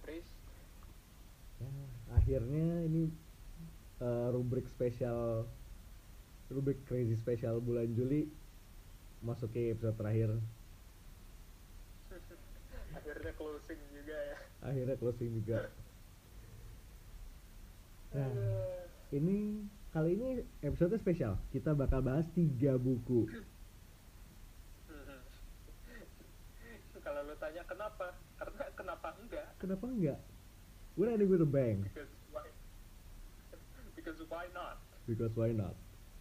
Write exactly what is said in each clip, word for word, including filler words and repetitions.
Pris. Ya, akhirnya ini uh, rubrik spesial, rubrik crazy spesial bulan Juli masuk ke episode terakhir. Akhirnya closing juga ya. Akhirnya closing juga. Nah, Aduh. ini kali ini episode spesial. Kita bakal bahas tiga buku. Kalau lo tanya kenapa, karena kenapa enggak? Kenapa enggak? We're ready with a bang. Because why? Because why not? Because why not?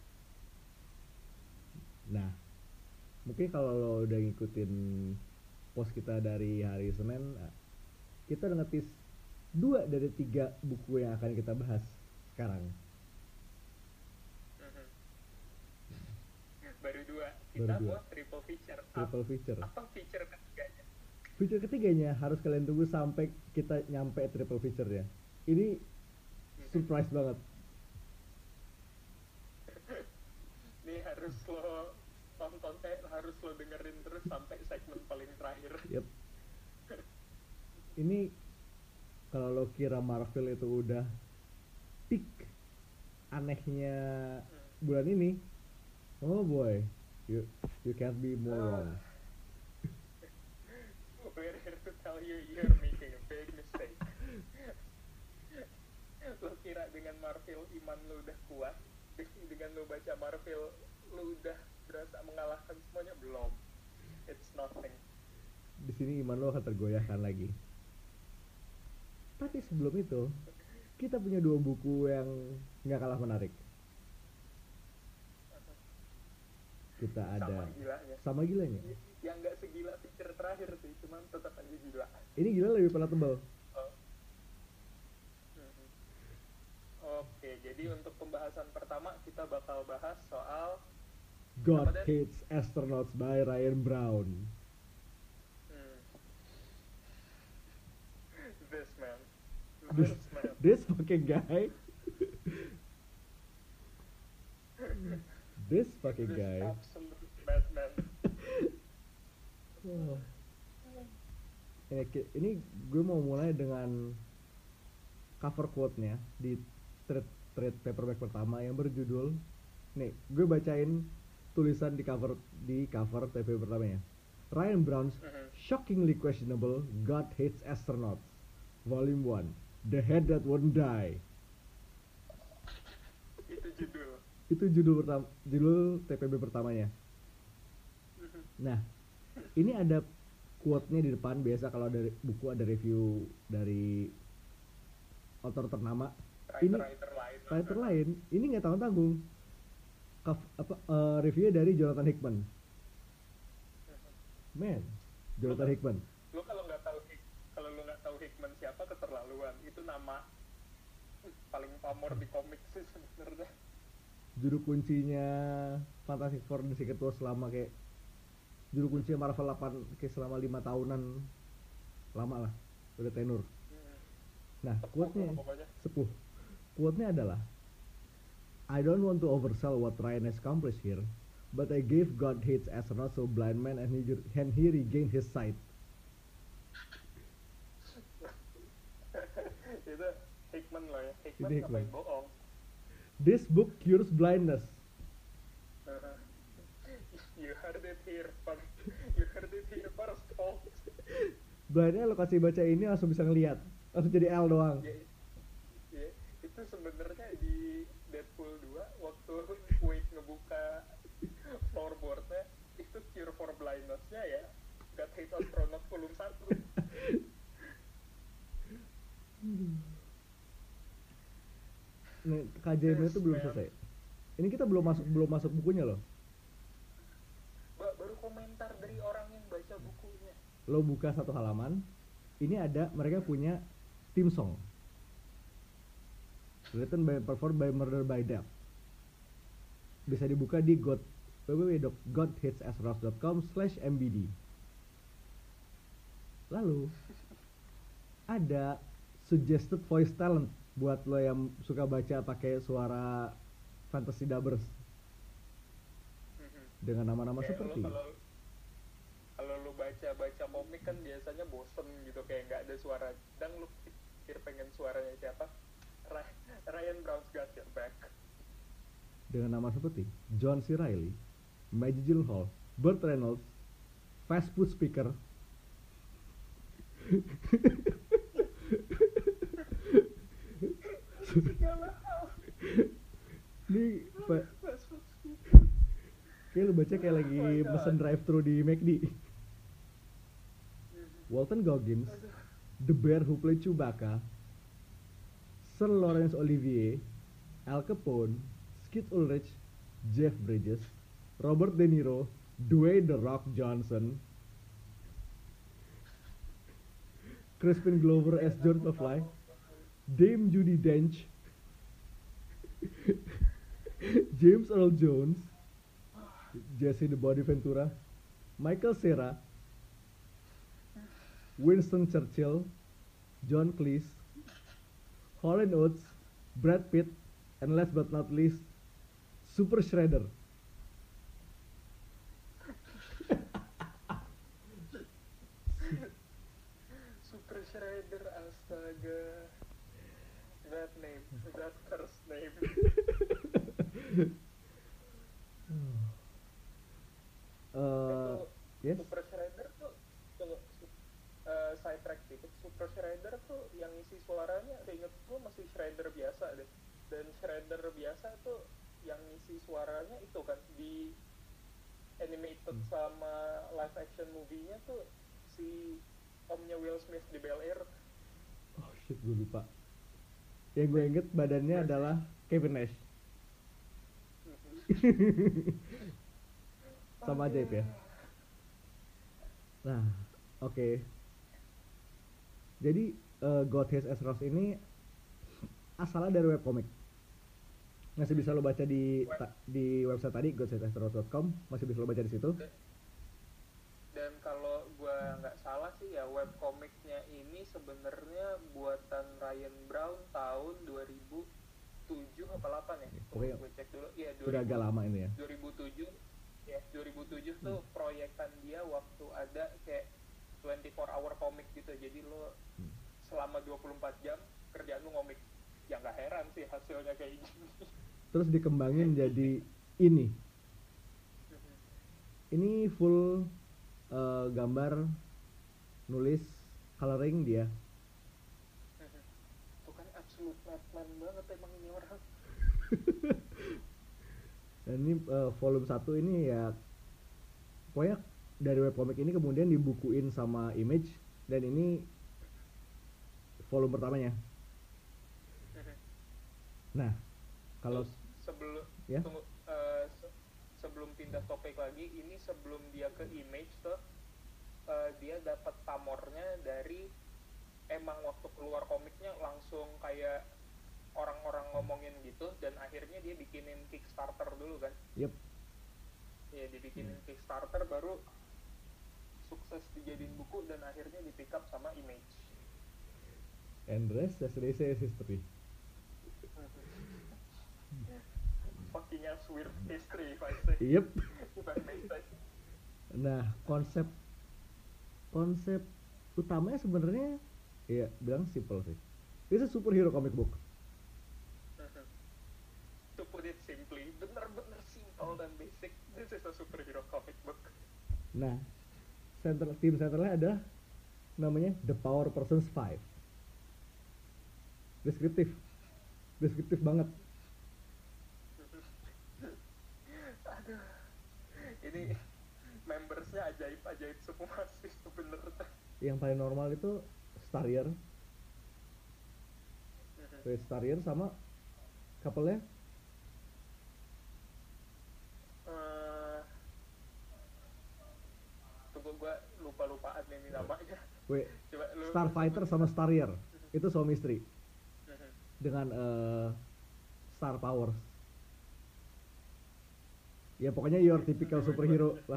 Nah, mungkin kalau lo udah ngikutin post kita dari hari Senin, kita udah ngetis dua dari tiga buku yang akan kita bahas sekarang. Baru dua. Kita Baru dua. mau triple feature. Triple feature. Apa feature ketiganya? Feature ketiganya harus kalian tunggu sampai kita nyampe triple feature-nya. Ini surprise banget. Ini harus lo tonton, eh harus lo dengerin terus sampai segmen paling terakhir. Yep. Ini kalau lo kira Marvel itu udah peak anehnya bulan ini, oh boy, you you can't be more wrong. We're here to tell you you're making a big mistake. Lo kira dengan Marvel iman lo udah kuat, dengan lo baca Marvel lo udah berasa mengalahkan semuanya? Belum. It's nothing. Di sini iman lo akan tergoyahkan lagi. Tapi sebelum itu, kita punya dua buku yang nggak kalah menarik. Kita ada sama gilanya. Sama gilanya. Yang nggak segila feature terakhir sih, cuman tetap aja gila. Ini gila lebih pernah tebal. Oh. Hmm. Oke, jadi untuk pembahasan pertama kita bakal bahas soal God Hates Astronauts by Ryan Brown. Hmm. This man. This, This man. this fucking guy. This fucking This guy. absolute madman. Oh. Ini, ini gue mau mulai dengan cover quote-nya di trade, trade paperback pertama yang berjudul, nih gue bacain tulisan di cover di cover T V pertamanya. Ryan Brown's Mm-hmm. Shockingly Questionable God Hates Astronauts Volume one, The Head That Won't Die. Itu judul. Itu judul pertama, judul T P B pertamanya. Mm-hmm. Nah, ini ada quote-nya di depan. Biasa kalau ada buku ada review dari author ternama. Ini Writer lain. writer lain, ini nggak tanggung-tanggung. Kaf- apa uh, reviewnya dari Jonathan Hickman. Man, Jonathan Hickman. Lu kalau nggak tahu kalau lu nggak tahu Hickman siapa, keterlaluan. Itu nama paling pamor di komik sih sebenarnya. Juru kuncinya Fantastic Four dan Secret Wars selama kayak juru kunci Marvel delapan kayak selama lima tahunan, lama lah, udah tenur. Nah, quote-nya sepuh. Quote-nya adalah, I don't want to oversell what Ryan has accomplished here, but I gave God Hates Astronauts to a blind man and he, and he regained his sight. Itu Hickman loh ya. Hickman Ini Hickman. ngapain bohong. This book cures blindness. Uh, you heard it here first. You heard it here first, folks. Blindnya lo kasih baca ini langsung bisa ngelihat, langsung jadi L doang. Ya, ya, itu sebenarnya di Deadpool dua waktu Wade ngebuka floorboardnya, itu cure for blindness-nya ya God Hates Astronauts volume satu. Nih, K J M itu belum selesai. Ini kita belum masuk belum masuk bukunya loh. Ba- baru komentar dari orang yang baca bukunya. Lo buka satu halaman, ini ada mereka punya theme song. Written by performed by Murder by Death. Bisa dibuka di god w w w dot god hates astronauts dot com slash m b d. Lalu ada suggested voice talent buat lo yang suka baca pakai suara fantasy dubbers dengan nama-nama Kayak seperti lo kalau kalau lo baca-baca komik kan biasanya bosen gitu, kayak nggak ada suara. Dan lu pikir pengen suaranya siapa? Ra- Ryan Brown's got your back. Dengan nama seperti John C. Reilly, Maggie Gyllenhaal, Burt Reynolds, fast food speaker. Segala hal. Ini pa- Fast food speaker. kayak lu baca kayak lagi Oh my God. pesen drive thru di McD. Walton Goggins, Aduh. the bear who played Chewbacca, Sir Laurence Olivier, Al Capone, Skid Ulrich, Jeff Bridges, Robert De Niro, Dwayne The Rock Johnson, Crispin Glover as George McFly, Dame Judi Dench, James Earl Jones, Jesse the Body Ventura, Michael Cera, Winston Churchill, John Cleese, Hall and Oates, Brad Pitt, and last but not least, Super Shredder. Super Shredder, astaga. That name, that first name. Uh, Itu yes, Super Shredder tuh, tunggu, uh, side track dikit. Super Shredder tuh yang isi suaranya, inget gue masih Shredder biasa deh. Dan Shredder biasa tuh yang isi suaranya itu kan di animated Hmm. sama live action movie-nya tuh si omnya Will Smith di Bel Air. oh shit, gue lupa. Yang gue inget badannya adalah Kevin Nash. Sama ajaib ya. Nah, oke. Jadi uh, God Hates Azeroth ini asalnya dari webcomic. Masih bisa lo baca di ta- di website tadi god hates azeroth dot com, masih bisa lo baca di situ. Dan kalau gua nggak salah sih ya, webcomicnya ini sebenarnya buatan Ryan Brown tahun dua ribu tujuh apa delapan ya? Pokoknya Gue cek dulu. Iya, Udah agak lama ini ya. dua ribu tujuh. Ya, dua ribu tujuh tuh proyekan dia waktu ada kayak twenty-four hour comic gitu. Jadi lo Hmm. selama dua puluh empat jam kerjaan lo ngomik. Ya nggak heran sih hasilnya kayak gini. Terus dikembangin jadi ini. Ini full uh, gambar, nulis, coloring dia. Itu kan absolute madman banget emang ini orang. Dan ini uh, volume satu ini ya, pokoknya dari webcomic ini kemudian dibukuin sama Image, dan ini volume pertamanya. Nah, kalau Terus sebelum ya, tunggu, eh, se- sebelum pindah topik lagi, ini sebelum dia ke Image tuh eh, dia dapat pamornya dari, emang waktu keluar komiknya langsung kayak orang-orang ngomongin gitu, dan akhirnya dia bikinin Kickstarter dulu kan. yep, Ya dibikinin Kickstarter, baru sukses dijadiin buku dan akhirnya di pick up sama Image. and rest as they say is history. Fucking ass weird history if I say. Yep. If I may say. Nah, konsep konsep utamanya sebenarnya ya bilang simple sih. It's a superhero comic book. To put it simply, bener-bener simple dan basic. This is a superhero comic book. Nah, center tim centernya ada namanya The Power Persons Five. Deskriptif, deskriptif banget. Aduh, ini membersnya ajaib-ajaib semua sih sebenernya. Yang paling normal itu Starrier, Wait, Starrier sama couple-nya Eh, tunggu gua lupa-lupaan ini namanya. Wait, Coba lu. Starfighter sama Starrier. Itu suami istri dengan eh, Star Powers. Ya pokoknya your typical superhero lah.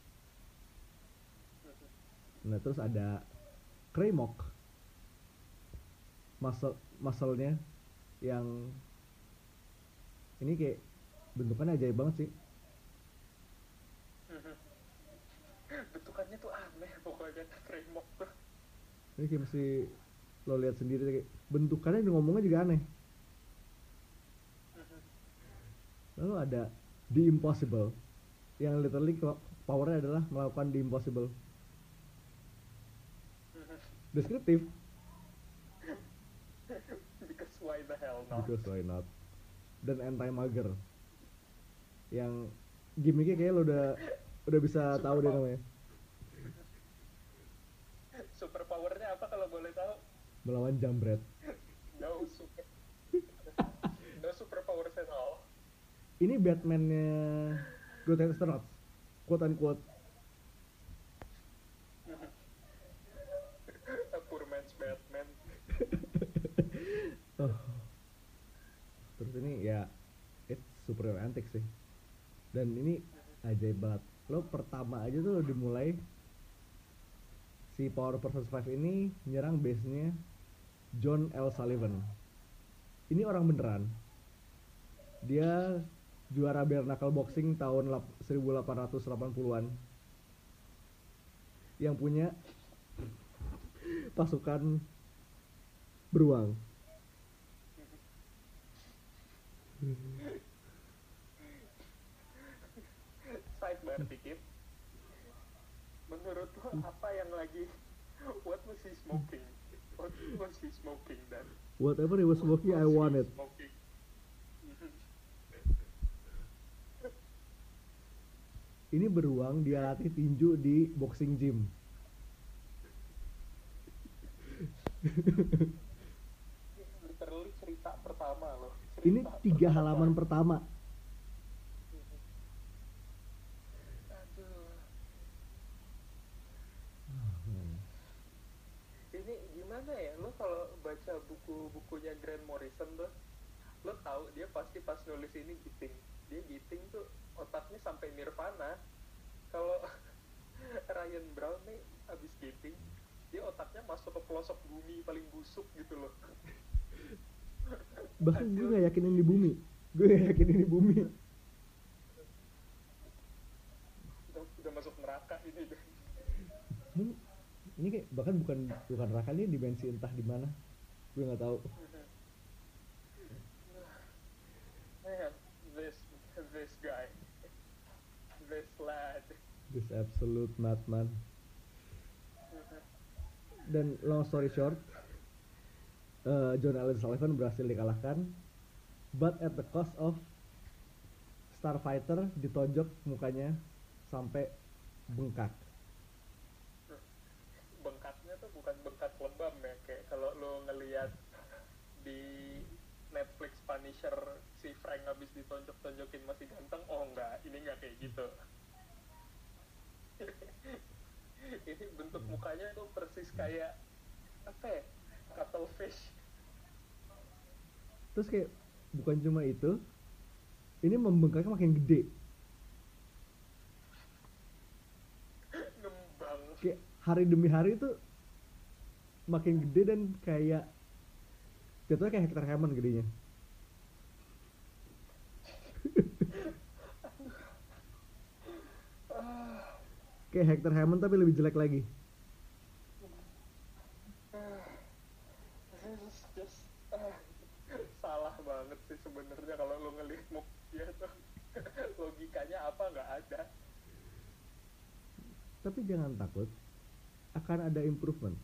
Nah, terus ada Kraymok, muscle muscle-nya yang ini kayak bentukannya ajaib banget sih. bentukannya tuh aneh pokoknya Raymok tuh. Ini kayak mesti lo lihat sendiri kayak bentukannya dan ngomongnya juga aneh. Lalu ada The Impossible yang literally powernya adalah melakukan The Impossible. Deskriptif. Because why the hell not? Because why not? Dan anti-mager. Yang gimmicknya kayak lo udah udah bisa Super tahu deh power. namanya. Super powernya apa kalau boleh tahu? Melawan Jambret. No super. No super powers at all. Ini Batman-nya Good Astronauts. Quote unquote. A poor man's Batman. Oh. Terus ini ya it's super antik sih. Dan ini ajaib banget. Lo pertama aja tuh lo dimulai si Power Person Five ini nyerang base-nya John L. Sullivan. Ini orang beneran. Dia juara bare knuckle boxing tahun seribu delapan ratus delapan puluhan. Yang punya pasukan beruang. Sidebar dikit. Menurut lo apa yang lagi? What was he smoking? What was he smoking then? Whatever he was smoking, I want it. Smoking. Ini beruang dia latih tinju di boxing gym. Literally cerita pertama loh. Cerita Ini tiga pertama. halaman pertama. Aduh. Ini gimana ya? Lo kalau baca buku-bukunya Grant Morrison tuh, lo tahu dia pasti pas nulis ini giting. Dia giting tuh otaknya sampai nirvana. Kalau Ryan Brown nih abis giting, dia otaknya masuk ke pelosok bumi paling busuk gitu loh. Bahkan gue gak yakin ini bumi. Gue gak yakin ini bumi. Udah, udah masuk neraka ini deh. Ini, ini kayak bahkan bukan bukan neraka, ini dimensi entah di mana. Gue nggak tahu. Man, this this guy, this lad. This absolute madman. Dan long story short, uh, John Allen Sullivan berhasil dikalahkan, but at the cost of Starfighter ditonjok mukanya sampai bengkak. Bengkaknya tuh bukan bengkak lebam ya, kayak kalau lo ngelihat di Netflix Punisher si Frank habis ditonjok-tonjokin masih ganteng. Oh enggak, ini enggak kayak gitu. Ini bentuk mukanya tuh persis kayak apa ya, cuttlefish. Terus kayak bukan cuma itu, ini membengkaknya makin gede. Ngembang. Kayak hari demi hari itu makin gede dan kayak jatuhnya kayak Hector Hammond gedenya. Kayak Hector Hammond tapi lebih jelek lagi. This just ah, salah banget sih sebenarnya kalau lo ngelihat muk dia tuh. Logikanya apa nggak ada. Tapi jangan takut, akan ada improvement.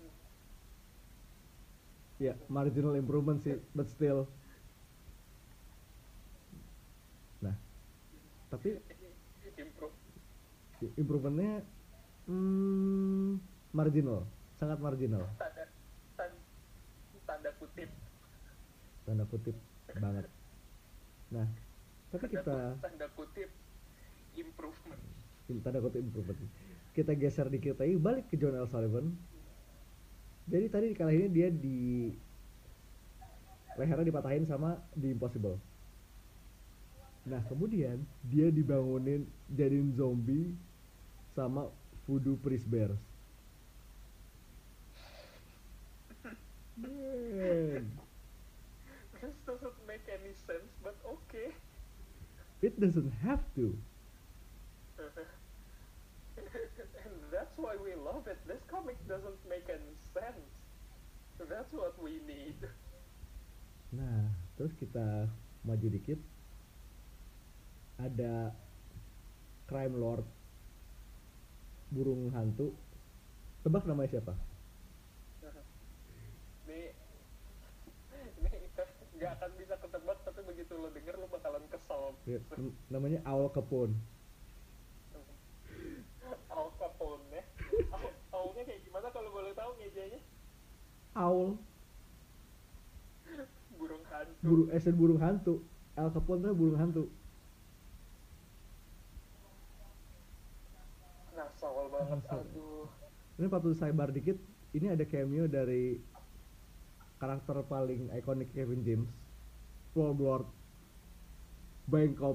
Ya, marginal improvement sih, but still. Nah, tapi Improve. improvementnya hmm, marginal, sangat marginal. Tanda, tanda, tanda kutip. Tanda kutip banget. Nah, tapi Tanda kita kutip, tanda kutip improvement. tanda kutip improvement. Kita geser dikit lagi, balik ke John L. Sullivan. Jadi tadi dikalahinnya dia di lehernya dipatahin sama The Impossible. Nah kemudian dia dibangunin jadiin zombie sama Voodoo Priest Bears. Man, This doesn't make any sense, but okay. it doesn't have to. doesn't make any sense. So that's what we need. Nah, terus kita maju dikit, ada crime lord burung hantu. Tebak namanya siapa? Ini ini nggak akan bisa ketebak, tapi begitu lo denger lo bakalan kesel. Ya, n- namanya Al Capone. Al Capone ya. Al- Aulnya kayak gimana kalau boleh tahu ngejanya? Owl, Burung hantu. burung esen burung hantu. Al Capone tuh burung hantu. Ngasal banget, Ngasal. aduh. Ini patut sidebar dikit. Ini ada cameo dari karakter paling ikonik Kevin James, Floorboard, Bangkok.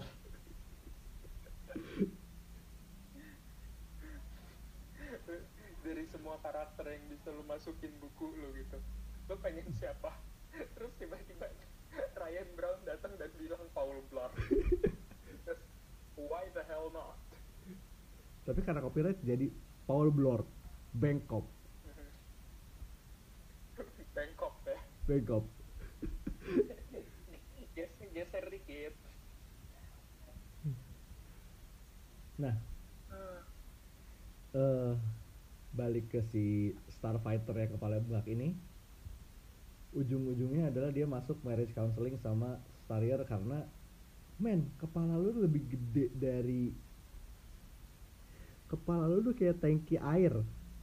Dari semua karakter yang bisa lo masukin buku lo gitu, lo pengen siapa? Terus tiba-tiba Ryan Brown datang dan bilang Paul Blart. Terus, why the hell not? Tapi karena copyright jadi Paul Blart, Bangkok, Bangkok ya. Bangkok. Geser, geser dikit. Nah, Ah, eh balik ke si Starfighter yang kepala bengkak ini, ujung-ujungnya adalah dia masuk marriage counseling sama Starrier karena, men, kepala lu lebih gede dari, kepala lu tuh kayak tangki air,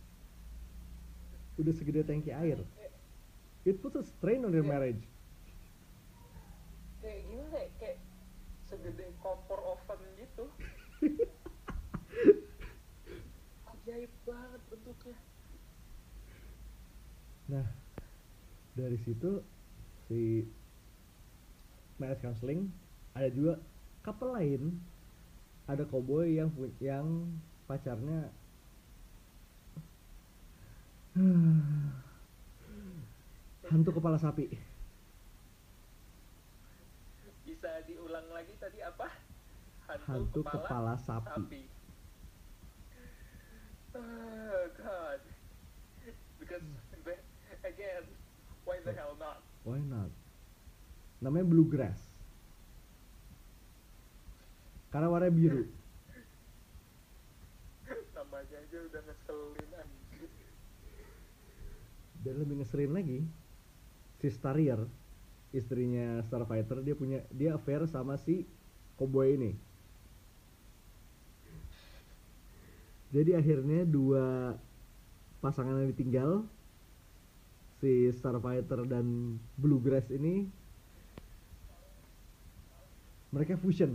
udah segede tangki air. It puts a strain on your marriage. kayak gimana ya? Kayak segede kompor oven gitu. Ajaib banget bentuknya. Nah, dari situ si marriage counseling ada juga couple lain, ada cowboy yang pu- yang pacarnya hantu kepala sapi. Bisa diulang lagi tadi apa? Hantu kepala sapi. Oh God. Because the- again, why the hell not? Why not? Namanya bluegrass. Karena warnanya biru. Namanya aja udah ngeselin anjir. Dan lebih ngeselin lagi, si Starrier, istrinya Starfighter, dia punya dia affair sama si cowboy ini. Jadi akhirnya dua pasangan yang ditinggal, si Starfighter dan Bluegrass ini, mereka fusion.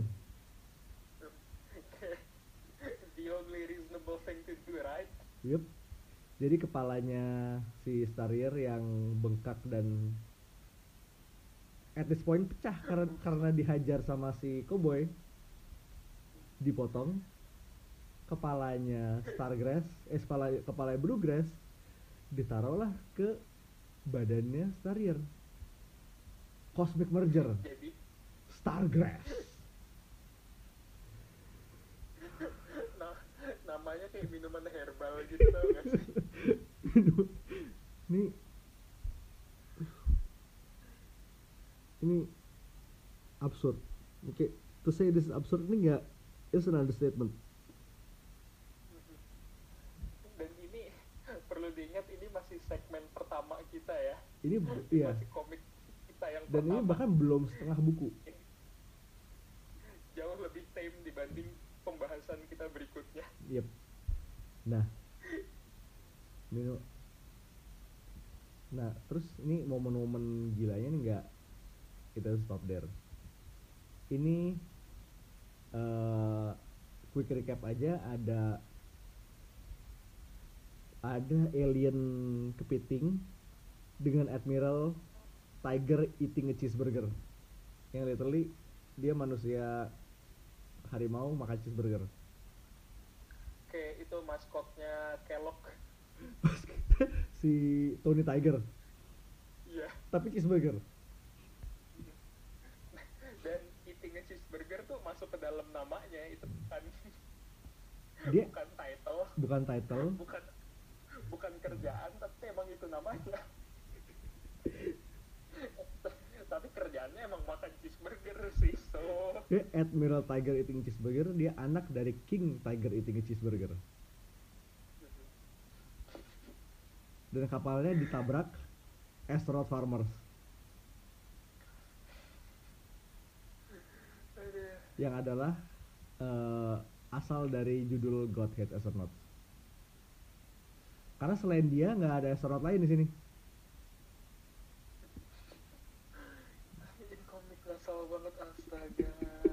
The only reasonable thing to do, right? Yup. Jadi kepalanya si Starrier yang bengkak dan at this point pecah karena karena dihajar sama si cowboy, dipotong. Kepalanya Stargrass, eh kepala kepala Bluegrass ditaruhlah ke badannya Starrier. Cosmic merger, Jadi Stargrass. nah, namanya kayak minuman herbal gitu tau gak sih? ini ini absurd. Oke, to say this is absurd ini nggak, it's an understatement. Dan ini perlu diingat, ini masih segmen pertama kita ya. Ini b- iya. Masih komik kita yang Dan ini pertama. bahkan belum setengah buku. Jauh lebih tame dibanding pembahasan kita berikutnya. Yep. Nah, Mino. Nah, terus ini momen-momen gilanya nih nggak kita stop there. Ini eh quick recap aja, ada ada alien kepiting dengan Admiral Tiger eating a cheeseburger, yang literally dia manusia harimau makan cheeseburger. Kayak itu maskotnya Kellogg. Si Tony Tiger Iya. tapi cheeseburger. Dan eating a cheeseburger tuh masuk ke dalam namanya, itu bukan Dia bukan title, bukan title, bukan bukan kerjaan tapi emang itu namanya. Tapi kerjaannya emang makan cheeseburger sih, so Dia Admiral Tiger Eating Cheeseburger, dia anak dari King Tiger Eating Cheeseburger. Dan kapalnya ditabrak astronaut farmers yang adalah uh, asal dari judul Godhead Astronaut. Karena selain dia nggak ada astronaut lain di sini. ini komik ngasal banget, astaga.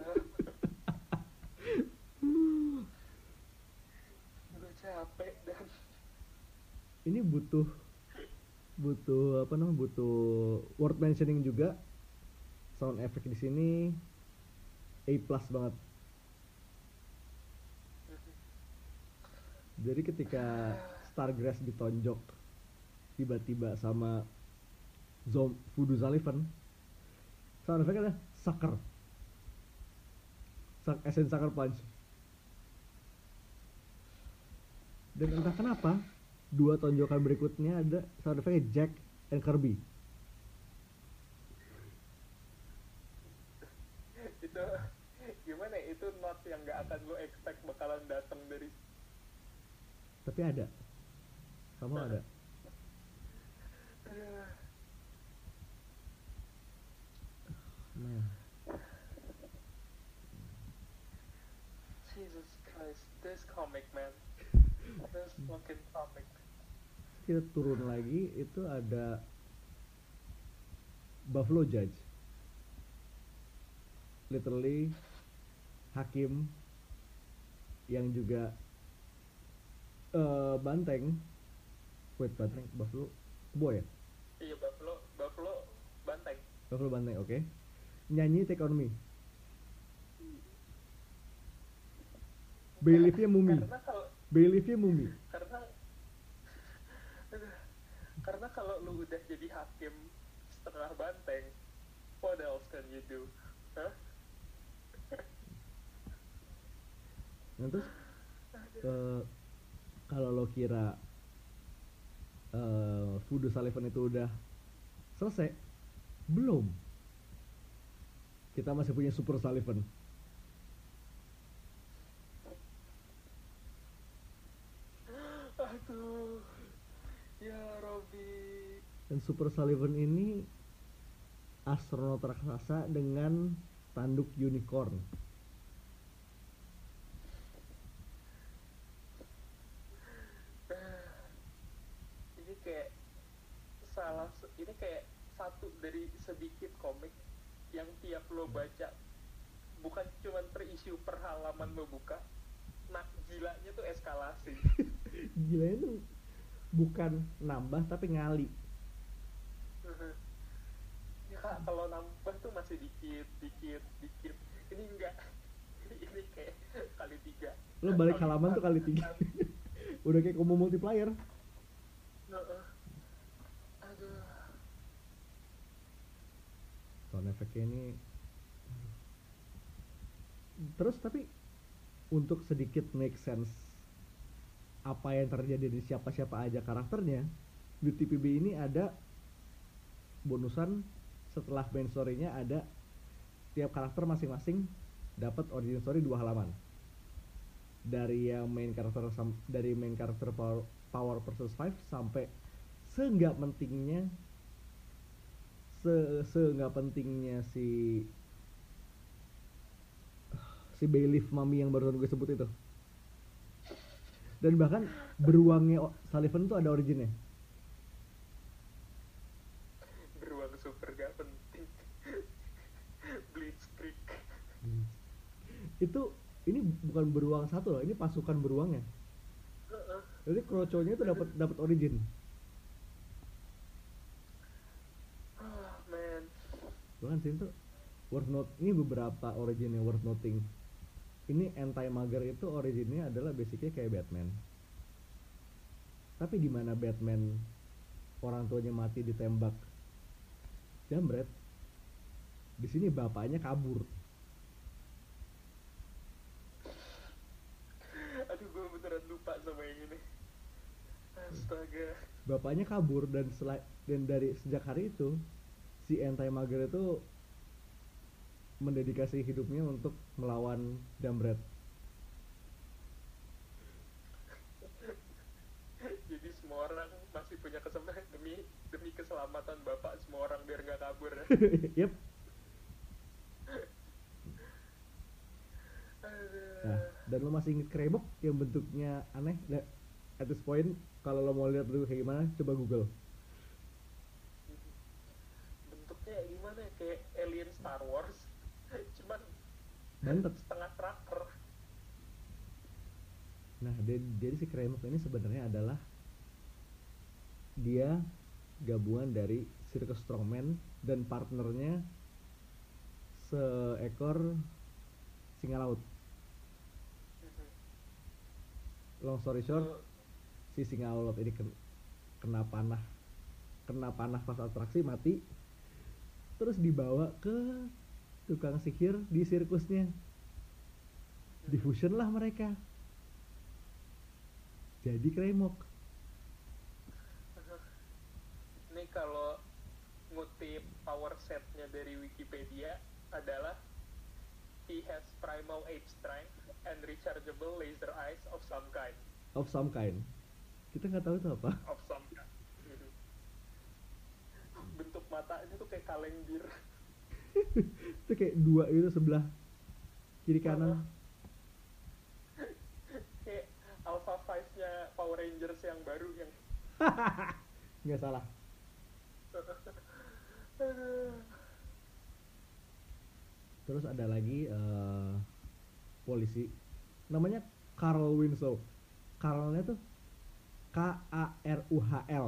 Gue capek dan Ini butuh butuh apa namanya butuh word mentioning juga. Sound effect di sini A plus banget. Jadi ketika Stargrass ditonjok tiba-tiba sama Zom Voodoo Sullivan, sound effect adalah sucker, Suck, essence sucker punch. Dan entah kenapa dua tonjokan berikutnya ada sound effect Jack and Kirby. itu gimana ya, itu not yang nggak akan lo expect bakalan datang dari. Tapi ada, sama ada. Aduh. Nah, Jesus Christ, this comic man, this fucking comic. kita turun lagi itu ada Buffalo Judge, literally hakim yang juga uh, banteng. Wait, banteng Buffalo boy ya? Iya, Buffalo, Buffalo banteng. Buffalo banteng, oke. Okay. Nyanyi Take On Me. Bailiff-nya Mumi. Karena kalau Bailiff-nya Mumi. karena karena kalau lu udah jadi hakim setengah banteng, what else can you do? Hah? Nah, terus uh, kalau lo kira uh, Voodoo Sullivan itu udah selesai, belum. Kita masih punya Super Sullivan. Aduh, ya Robby. Dan Super Sullivan ini astronot raksasa dengan tanduk unicorn. Ini kayak salah, ini kayak satu dari sedikit komik yang tiap lo baca bukan cuma per isu per halaman lo buka, nah gilanya tuh eskalasi. Gila itu bukan nambah tapi ngali. Ya kak, kalau nambah tuh masih dikit, dikit, dikit. Ini enggak. Ini kayak kali tiga. Lo balik halaman tuh kali tiga. Udah kayak combo multiplier. Aduh. Sound effect-nya ini. Terus tapi untuk sedikit make sense apa yang terjadi di siapa-siapa aja karakternya, di T P B ini ada bonusan setelah main story-nya, ada tiap karakter masing-masing dapat origin story dua halaman. Dari yang main karakter dari main karakter power, power versus five sampai seenggak pentingnya se seenggak pentingnya si si Bailiff Mami yang barusan gue sebut itu. Dan bahkan beruangnya Sullivan tuh ada originnya. Beruang super gak penting. Blitzkrieg. Itu ini bukan beruang satu loh, ini pasukan beruangnya. Jadi kroconya itu dapat dapat origin. Oh man. Bahkan sini tuh worth note, ini beberapa originnya worth noting. Ini anti-mager itu originnya adalah basicnya kayak Batman. Tapi di mana Batman orang tuanya mati ditembak jambret, di sini bapaknya kabur. Aduh, gue beneran lupa sama yang ini. Astaga. Bapaknya kabur dan selai, dan dari sejak hari itu si Entei Mager itu mendedikasi hidupnya untuk melawan Jambret. Jadi semua orang masih punya kesempatan demi demi keselamatan bapak semua orang biar nggak kabur ya. Yep. Nah, Aduh. dan lo masih inget Kremok yang bentuknya aneh? Nah, at this point, kalau lo mau lihat dulu kayak gimana, coba Google. Bentuknya gimana ya? Kayak alien Star Wars. Cuman Bantet. setengah tracker. Nah, jadi, jadi si Kremok ini sebenarnya adalah dia gabungan dari Circus Strongman dan partnernya seekor singa laut. Long story short, Itu si singa laut ini ken- kena panah, kena panah pas atraksi, mati, terus dibawa ke tukang sihir di sirkusnya. Diffusion lah mereka. Jadi Kremok. ini kalau ngutip power setnya dari Wikipedia adalah he has primal age strength and rechargeable laser eyes of some kind. Of some kind. Kita nggak tahu itu apa. Of some kind. Bentuk matanya tuh kayak kaleng bir. Itu kayak dua itu sebelah kiri kanan. Kayak Alpha Five-nya Power Rangers yang baru yang Nggak salah. Terus ada lagi eh, polisi namanya Carl Winslow. Carlnya tuh K A R U H L.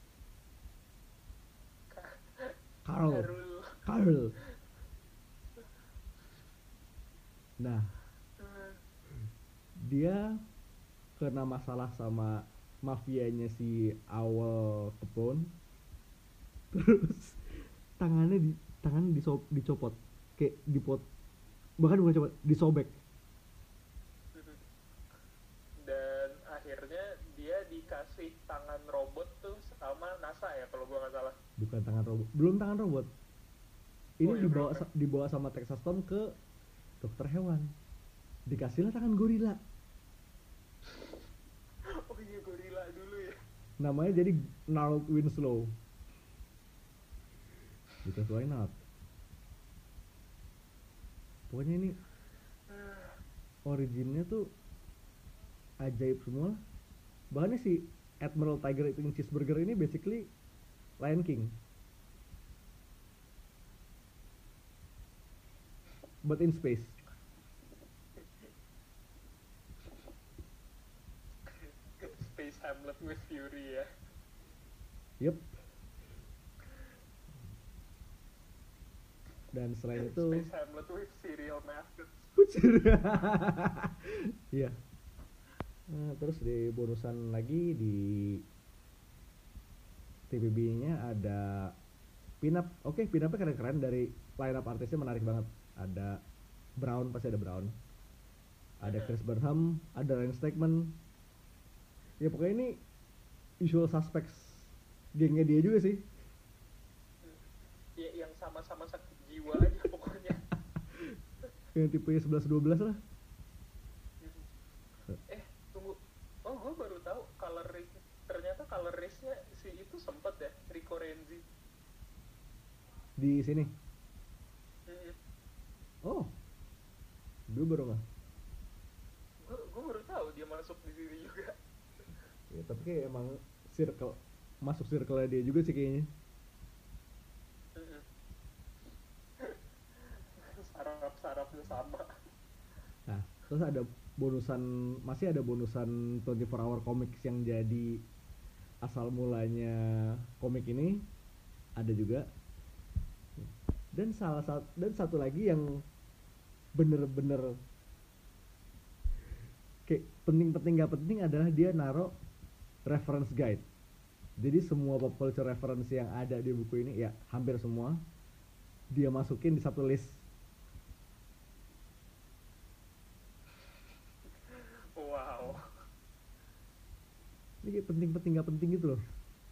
Carl. Karul. Carl. Nah, dia kena masalah sama mafianya si Awal Capone. Terus tangannya di tangannya diso, dicopot kayak dipot, bahkan bukan copot, disobek. Dan akhirnya dia dikasih tangan robot tuh sama NASA ya kalau gua nggak salah. Bukan tangan robot, belum tangan robot ini. Oh, iya, dibawa belum, ya? dibawa sama Texas Tom ke dokter hewan, dikasihlah tangan gorila, Oh iya gorila dulu ya. namanya jadi Gnarled Winslow, because why not. Pokoknya ini originnya tuh ajaib semua. Bahannya si Admiral Tiger Eating Cheeseburger ini basically Lion King, but in space. Space Hamlet with Fury ya. Yep. Dan selain itu Space Hamlet with serial mascots. iya. Nah, terus di bonusan lagi di T V B-nya ada pinup. Oke, pinupnya keren-keren, dari line up artisnya menarik banget. Ada Brown, pasti ada Brown. Ada Chris Burnham, ada Ryan Stegman. Ya pokoknya ini usual suspects gengnya dia juga sih. Ya yang sama-sama sakit jiwa aja pokoknya. Yang tipenya sebelas dua belas lah. Eh tunggu, oh gue baru tahu color race, ternyata color race-nya si itu sempet ya, Rico Renzi. Di sini. Hmm. Oh. Gue baru nggak. Gue gue baru tahu dia masuk di sini juga. Ya, tapi kayak emang circle, masuk circle dia juga sih kayaknya. Hmm. Saraf-sarafnya sama. Nah, terus ada bonusan, masih ada bonusan dua puluh empat hour comics yang jadi asal mulanya komik ini ada juga. Dan salah satu, dan satu lagi yang bener-bener kayak penting-penting gak penting adalah dia naro reference guide. Jadi semua pop culture reference yang ada di buku ini, ya hampir semua, dia masukin di satu list. Wow. Ini kayak penting-penting nggak penting gitu loh.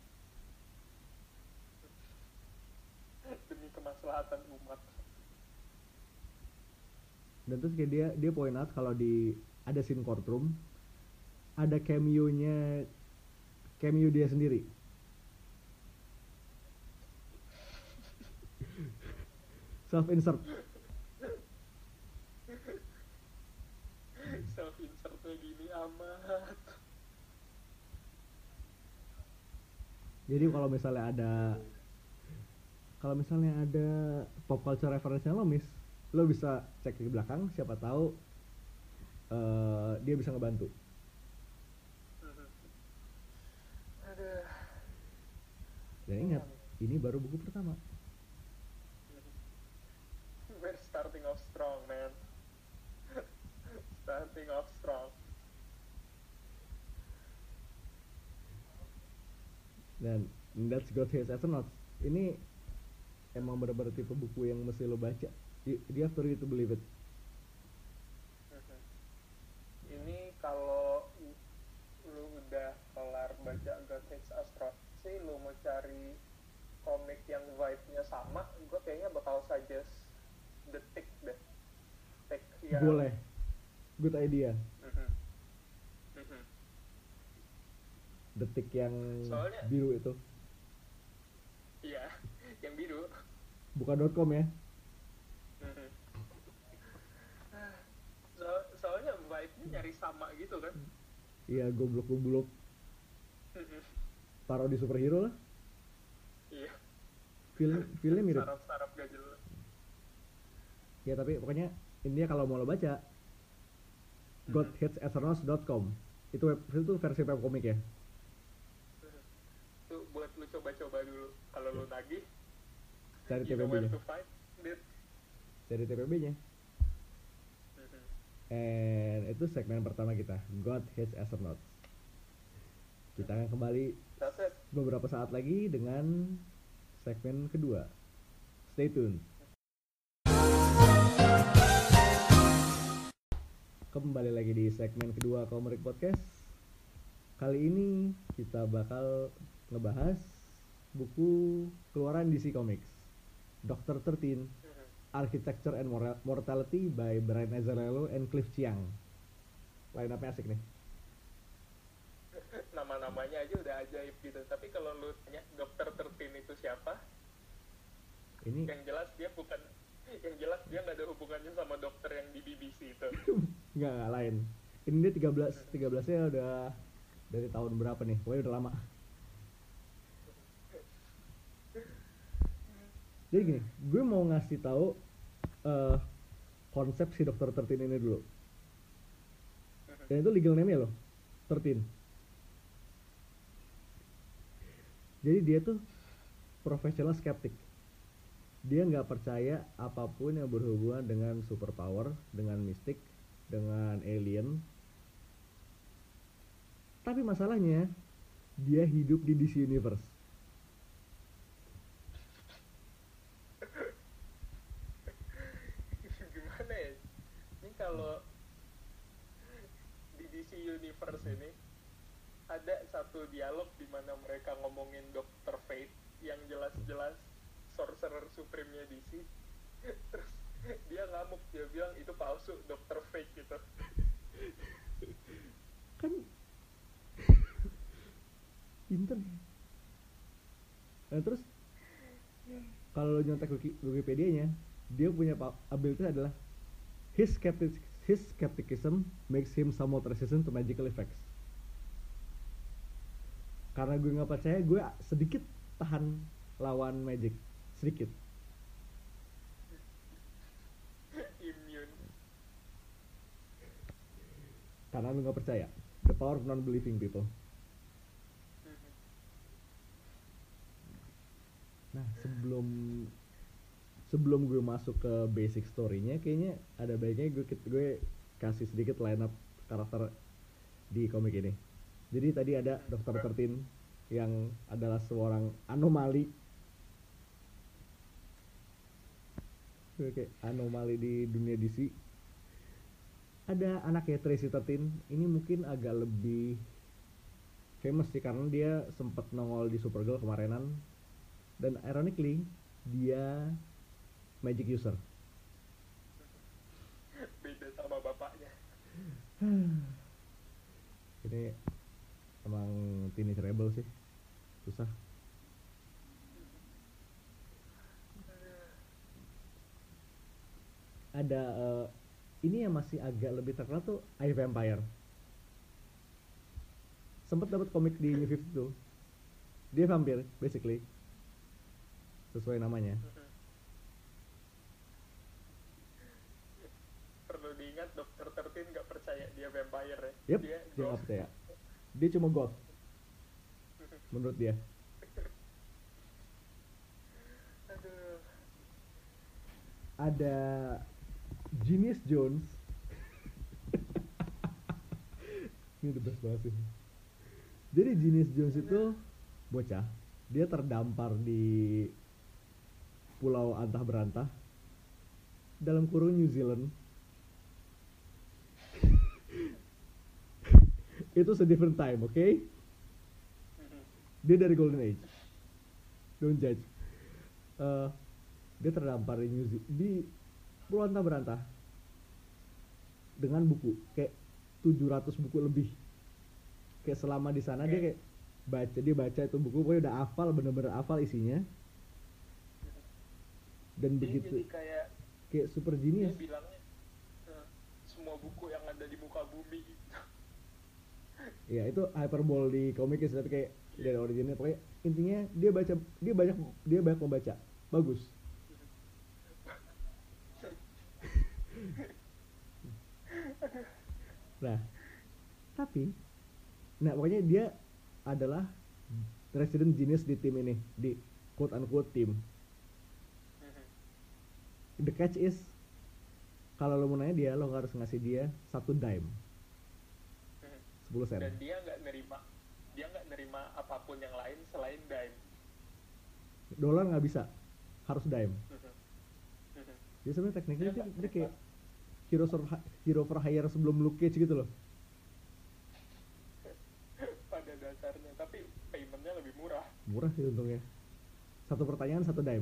Demi kemaslahatan umat. Dan terus kayak dia dia point out kalau di ada scene courtroom ada cameo-nya, cameo dia sendiri. Self insert. Self insertnya gini amat. Jadi kalau misalnya ada kalau misalnya ada pop culture reference-nya lo miss, lo bisa cek di belakang, siapa tahu uh, dia bisa ngebantu. Aduh. Dan ingat, ini baru buku pertama. We're starting off strong, man. Starting off strong. Dan that's got his astronauts. Ini emang bener-bener tipe buku yang mesti lo baca. You, you have to read to believe it. Ini kalau lu udah kelar baca God Hates Astronauts sih, lu mau cari komik yang vibe-nya sama, gue kayaknya bakal suggest The Tick deh. Tick yang... Boleh. Good idea. Mm-hmm. Mm-hmm. Detik yang Soalnya, biru itu. Iya, yang biru. Bukan .com ya. Mm-hmm. So, soalnya vibe-nya nyari sama gitu kan. Iya, goblok-goblok. Mm-hmm. Parodi superhero lah. Iya. Film filmnya mirip. Sarap-sarap gak jelas. Ya tapi pokoknya intinya kalau mau lo baca god hates astronauts dot com. Itu web, itu versi web komik ya. Tuh buat lu coba-coba dulu. Kalau lu nagih, Cari you T P know where B-nya. to find it. Cari T P B-nya. Mhm. And itu segmen pertama kita, God Hates Astronauts. Kita akan kembali That's it. beberapa saat lagi dengan segmen kedua. Stay tune. Kembali lagi di segmen kedua Komerik Podcast. Kali ini kita bakal ngebahas buku keluaran D C Comics, Doctor thirteen, Mhm. Architecture and Mora- Mortality by Brian Azzarello and Cliff Chiang. Line up-nya asik nih. Nama-namanya aja udah ajaib gitu. Tapi kalau lu tanya Dokter thirteen itu siapa? Ini Yang jelas dia bukan, yang jelas dia nggak ada hubungannya sama dokter yang di B B C itu. nggak nggak lain. Ini dia tiga belas tiga belasnya udah dari tahun berapa nih? Pokoknya udah lama. Jadi gini, gue mau ngasih tahu eh, konsep si Dokter thirteen ini dulu. Dan itu legal name-nya loh, thirteen. Jadi dia tuh professional skeptic. Dia nggak percaya apapun yang berhubungan dengan superpower, dengan mistik, dengan alien. Tapi masalahnya, dia hidup di D C Universe. Gimana ya? Ini kalau di D C Universe ini ada satu dialog di mana mereka ngomongin Dokter Fate yang jelas-jelas Sorcerer Supreme-nya D C. Terus dia ngamuk, dia bilang itu palsu, Dokter Fate gitu. Kan pinter. Nah terus kalau lo nyontek Wiki- Wikipedia-nya, dia punya pa- ability adalah his skeptic his skepticism makes him somewhat resistant to magical effects. Karena gue nggak percaya, gue sedikit tahan lawan magic, sedikit. Immune. Karena lu nggak percaya. The power of non-believing people. Nah sebelum sebelum gue masuk ke basic story-nya, kayaknya ada baiknya gue gue kasih sedikit line up karakter di komik ini. Jadi tadi ada Dokter thirteen yang adalah seorang anomali. Oke, anomali di dunia D C. Ada anaknya Tracy thirteen, ini mungkin agak lebih famous sih karena dia sempat nongol di Supergirl kemarinan, dan ironically dia magic user. Beda sama bapaknya. Ini emang teenage rebel sih, susah. Ada uh, ini yang masih agak lebih terkenal tuh I Vampire. Sempet dapat komik di New fifty two. Dia vampir basically, sesuai namanya. Perlu diingat dokter Tertin nggak percaya dia vampire ya. Yep, Dia dia nggak ghost. percaya. Dia cuma goth menurut dia. Aduh. Ada Genius Jones. Ini the best banget sih. Jadi Genius Jones itu bocah, dia terdampar di pulau antah berantah dalam kurung New Zealand. Itu a different time, oke? Okay? Dia dari Golden Age. Don't judge. Uh, dia terdampar di New Zealand, di pulau antah berantah dengan buku kayak tujuh ratus buku lebih. Kayak selama di sana dia kayak baca, dia baca itu buku, pokoknya udah hafal, bener-bener hafal isinya. Dan Dia begitu jadi kayak kayak super dia genius. bilangnya eh, semua buku yang ada di muka bumi gitu. Ya itu hyperbole di komiknya sih, tapi kayak dari originnya pokoknya intinya dia baca, dia banyak dia banyak membaca. Bagus. Nah, tapi nah pokoknya dia adalah resident genius di tim ini, di quote unquote tim. The catch is kalau lo mau nanya dia, lo harus ngasih dia satu dime, sepuluh sen. Dan dia nggak nerima dia nggak nerima apapun yang lain selain dime. Dolar nggak bisa, harus dime. Jadi sebenarnya tekniknya Dia dia, nggak dia kayak terima. hero for, hero for hire sebelum Luke Cage gitu loh. Pada dasarnya, tapi paymentnya lebih murah. Murah sih untungnya. Satu pertanyaan satu dime.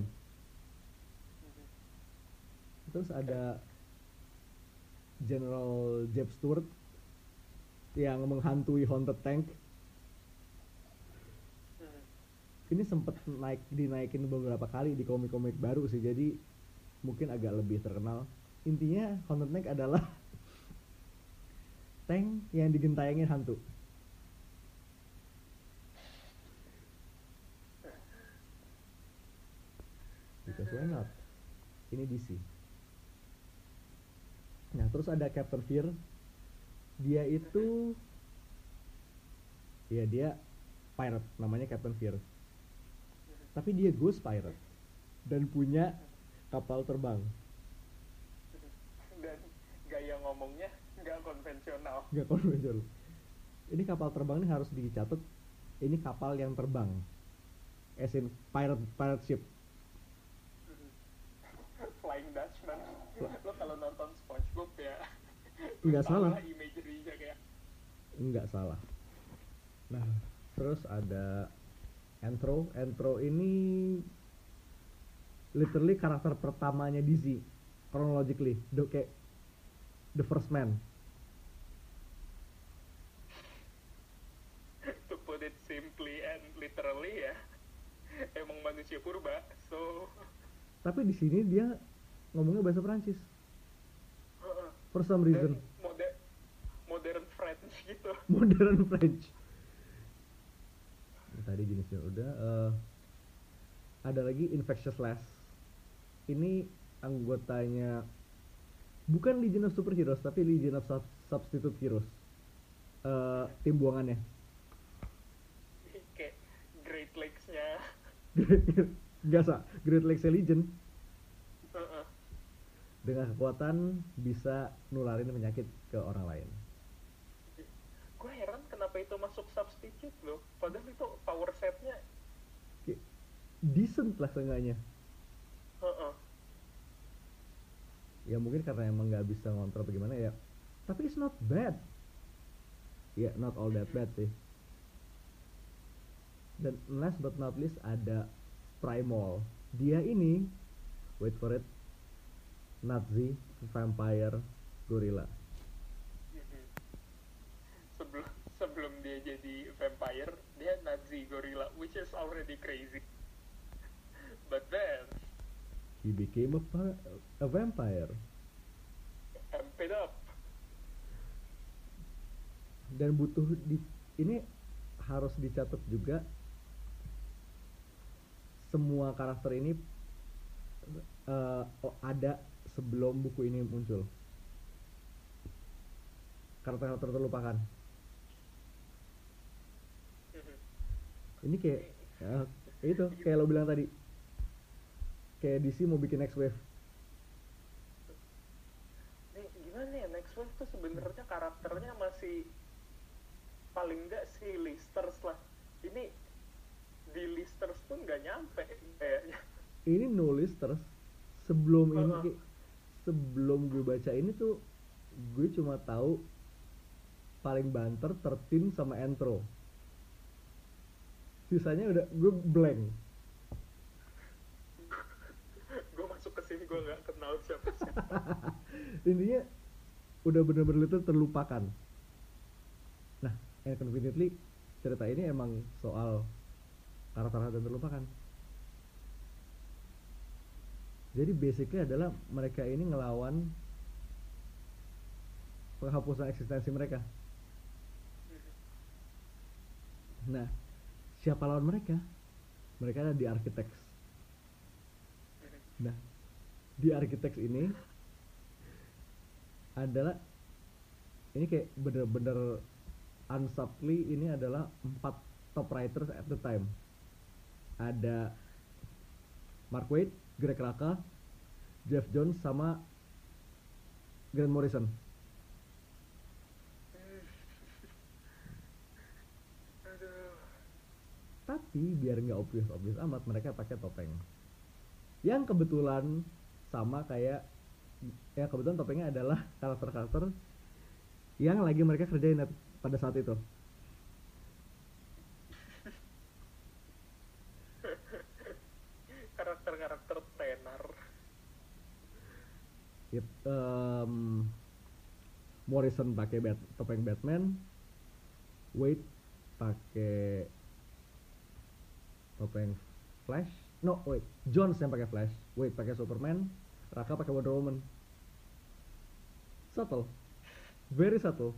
Terus ada General Jeb Stuart yang menghantui Haunted Tank. Ini sempat naik dinaikin beberapa kali di komik-komik baru sih, jadi mungkin agak lebih terkenal. Intinya Haunted Tank adalah tank yang digentayangin hantu. Because why not? Ini D C. Nah terus ada Captain Fear. Dia itu ya dia pirate, namanya Captain Fear. Tapi dia ghost pirate dan punya kapal terbang. Dan gaya ngomongnya nggak konvensional. Nggak konvensional. Ini kapal terbang ini harus dicatat. Ini kapal yang terbang. As in pirate pirate ship. Flying Dutchman. Lo kalau nonton SpongeBob ya Nggak salah. imagery-nya kayak Nggak salah. Nah terus ada Entro. Entro ini literally karakter pertamanya D C chronologically, the, kayak the first man. to put it simply and literally ya, emang manusia purba. So Tapi di sini dia ngomongnya bahasa Prancis for some reason. dan mode- modern French gitu. Modern French. Tadi jenisnya udah. Uh, ada lagi Infectious Lass. Ini anggotanya bukan Legion of Superheroes tapi Legion of Sub- Substitute Heroes. Uh, tim buangannya. Kayak Great Lakes-nya. Gak sah, Great Lakes Legion Uh-uh. dengan kekuatan bisa nularin penyakit ke orang lain. Gue heran kenapa itu masuk substitute loh, padahal itu power setnya. Kayak decent lah seenggaknya. Uh-uh. Ya mungkin karena emang nggak bisa ngontrol bagaimana ya. Tapi it's not bad. Ya yeah, not all that bad sih. Dan last but not least ada Primal. Dia ini, wait for it, Nazi vampire gorilla. Mhm. sebelum sebelum dia jadi vampire dia Nazi gorilla, which is already crazy, but then He became a, pa- a vampire. amp it up. Dan butuh di ini harus dicatat juga, semua karakter ini uh, oh, ada sebelum buku ini muncul. Karakter-karakter terlupakan. Mhm. Ini kayak uh, itu kayak lo bilang tadi, kayak D C mau bikin next wave. Nih gimana ya, next wave tuh sebenarnya karakternya masih paling enggak si listers lah. Ini di listers pun nggak nyampe kayaknya. Ini no listers. Sebelum ini Uh-uh. kayak- sebelum gue baca ini tuh gue cuma tahu paling banter tertin sama Entro. Sisanya udah gue blank. Gue masuk ke sini gue nggak kenal siapa siapa. Intinya udah bener-bener itu terlupakan. Nah, Infinitely cerita ini emang soal karakter yang terlupakan. Jadi basicnya adalah mereka ini ngelawan penghapusan eksistensi mereka. Nah, siapa lawan mereka? Mereka ada di Architects. Nah, di Architects ini adalah ini kayak bener-bener unsubtly ini adalah empat top writers at the time. Ada Mark Waid, Greg Rucka, Jeff Jones sama Grant Morrison. Aduh. Tapi biar nggak obvious-obvious amat, mereka pakai topeng. Yang kebetulan sama kayak, ya kebetulan topengnya adalah karakter-karakter yang lagi mereka kerjain pada saat itu. Karakter-karakter tenar. It, um, Morrison pakai bat, topeng Batman, Wade pakai topeng Flash, no wait, Jones yang pakai Flash, Wade pakai Superman, Raka pakai Wonder Woman. Subtle, very subtle.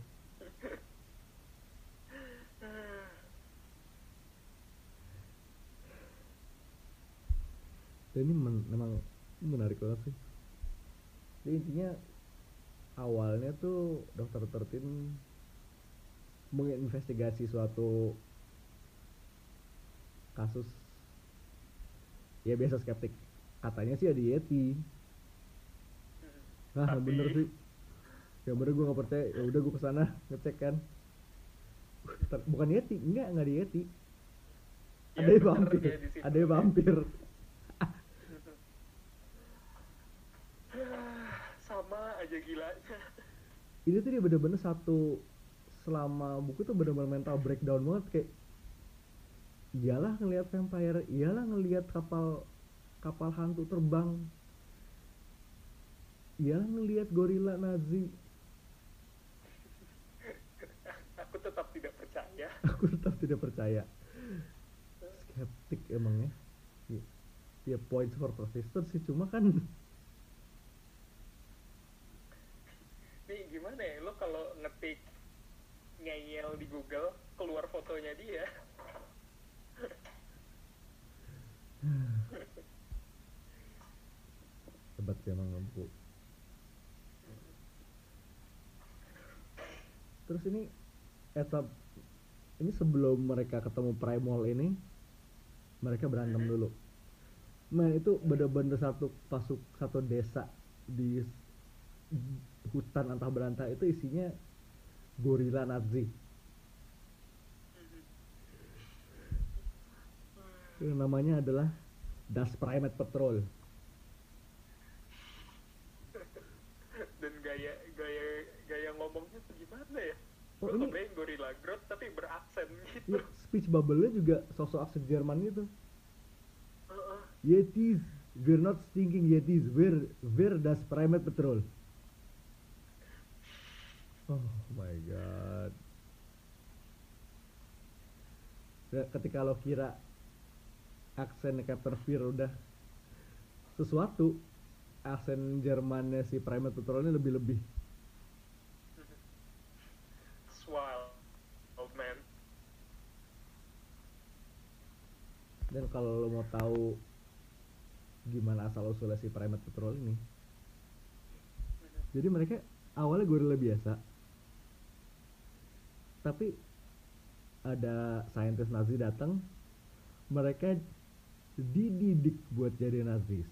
Dan ini men memang menarik banget sih. Jadi intinya awalnya tuh dokter Tertin menginvestigasi suatu kasus, ya biasa skeptik, katanya sih ada Yeti. Nah Tapi- bener sih, ya bener gue nggak percaya, ya udah gue kesana ngecek kan. Ter- bukan Yeti, enggak enggak ada Yeti, Ya, ada bener, vampir, kayak di situ. ada vampir. Sama aja gilanya. Ini tuh dia bener-bener satu, selama buku tuh bener-bener mental breakdown banget, kayak iyalah ngelihat vampire, iyalah ngelihat kapal kapal hantu terbang, iyalah ngelihat gorila Nazi. Aku tetap tidak percaya. Aku tetap tidak percaya. Skeptik emangnya. Ya, ya points for persistence sih, cuma kan Nih gimana ya, lo kalau ngetik ngeyel di Google keluar fotonya dia. hebat sih emang buku. Terus ini etap ini sebelum mereka ketemu Primal ini, mereka berantem dulu. Man, itu bener-bener satu pasuk satu desa di hutan antah berantah itu isinya gorila Nazi. Yang namanya adalah Das Primate Patrol. Dan gaya gaya gaya ngomongnya tuh gimana ya? Oh Gue ini kebayang Gorilla Grodd tapi beraksen ya, gitu. speech bubble-nya juga sosok aksen Jerman gitu. Heeh. Yetis, we're not stinking Yetis, we're we're das Primate Patrol. Oh my god. Ya, ketika lo kira aksen Captain Fear udah sesuatu, aksen Jermannya si Primate Patrol ini lebih-lebih. It's wild, old man. Dan kalau lo mau tahu gimana asal usulnya si Primate Patrol ini, jadi mereka awalnya gorila biasa, tapi ada saintis Nazi datang, mereka dididik buat jadi Nazis.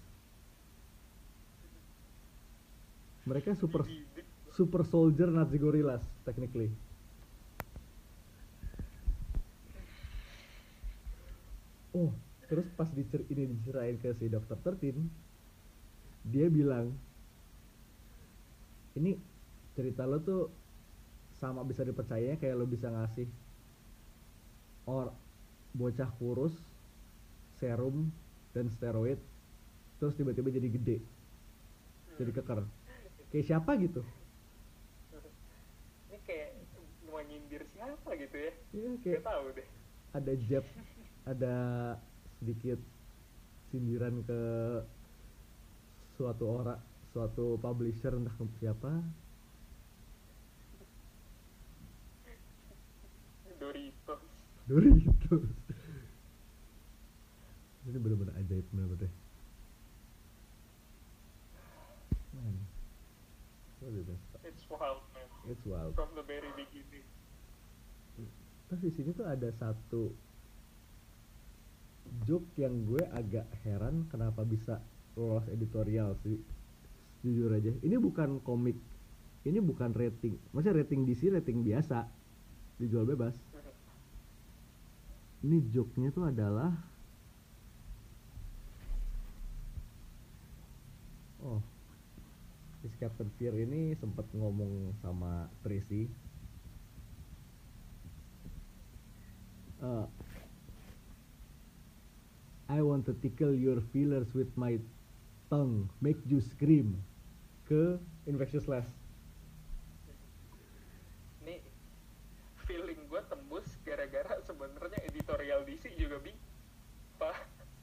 Mereka super Dididik. super soldier Nazi gorillas technically. Oh, terus pas dicer ini diceritain ke si dokter Tertin, dia bilang, ini cerita lo tuh sama bisa dipercaya kayak lo bisa ngasih or bocah kurus serum dan steroid terus tiba-tiba jadi gede, jadi keker, kayak siapa gitu. Ini kayak mau nyindir siapa gitu ya? Iya, Gak kayak tahu deh. ada jab, ada sedikit sindiran ke suatu orang, suatu publisher entah ke siapa. Doritos. Doritos. Ini bener-bener ajaib bener-bener. Man, what is this? It's wild, man. It's wild. From the very beginning. Terus di sini tuh ada satu joke yang gue agak heran kenapa bisa lolos editorial sih. Jujur aja, ini bukan komik, ini bukan rating. Maksudnya rating D C, rating biasa, dijual bebas. Ini joke-nya tuh adalah, oh, si Captain Fear ini sempat ngomong sama Tracy, uh, I want to tickle your feelers with my tongue, make you scream, ke Infectious Lass. Ini feeling gue tembus gara-gara sebenarnya editorial D C juga bing. Pak.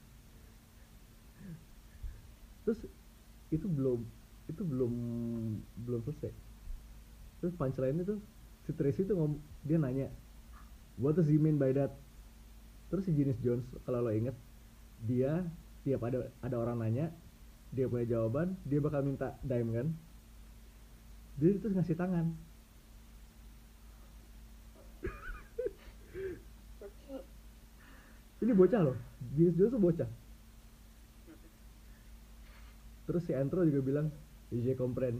Terus itu belum itu belum belum selesai. Terus punchline itu si Tracy tuh ngom dia nanya, what does he mean by that? Terus si James Jones kalau lo inget, dia tiap ada ada orang nanya, dia punya jawaban, dia bakal minta dime kan, dia terus ngasih tangan. Ini bocah loh, James Jones tuh bocah. Terus si Antro juga bilang, je comprends.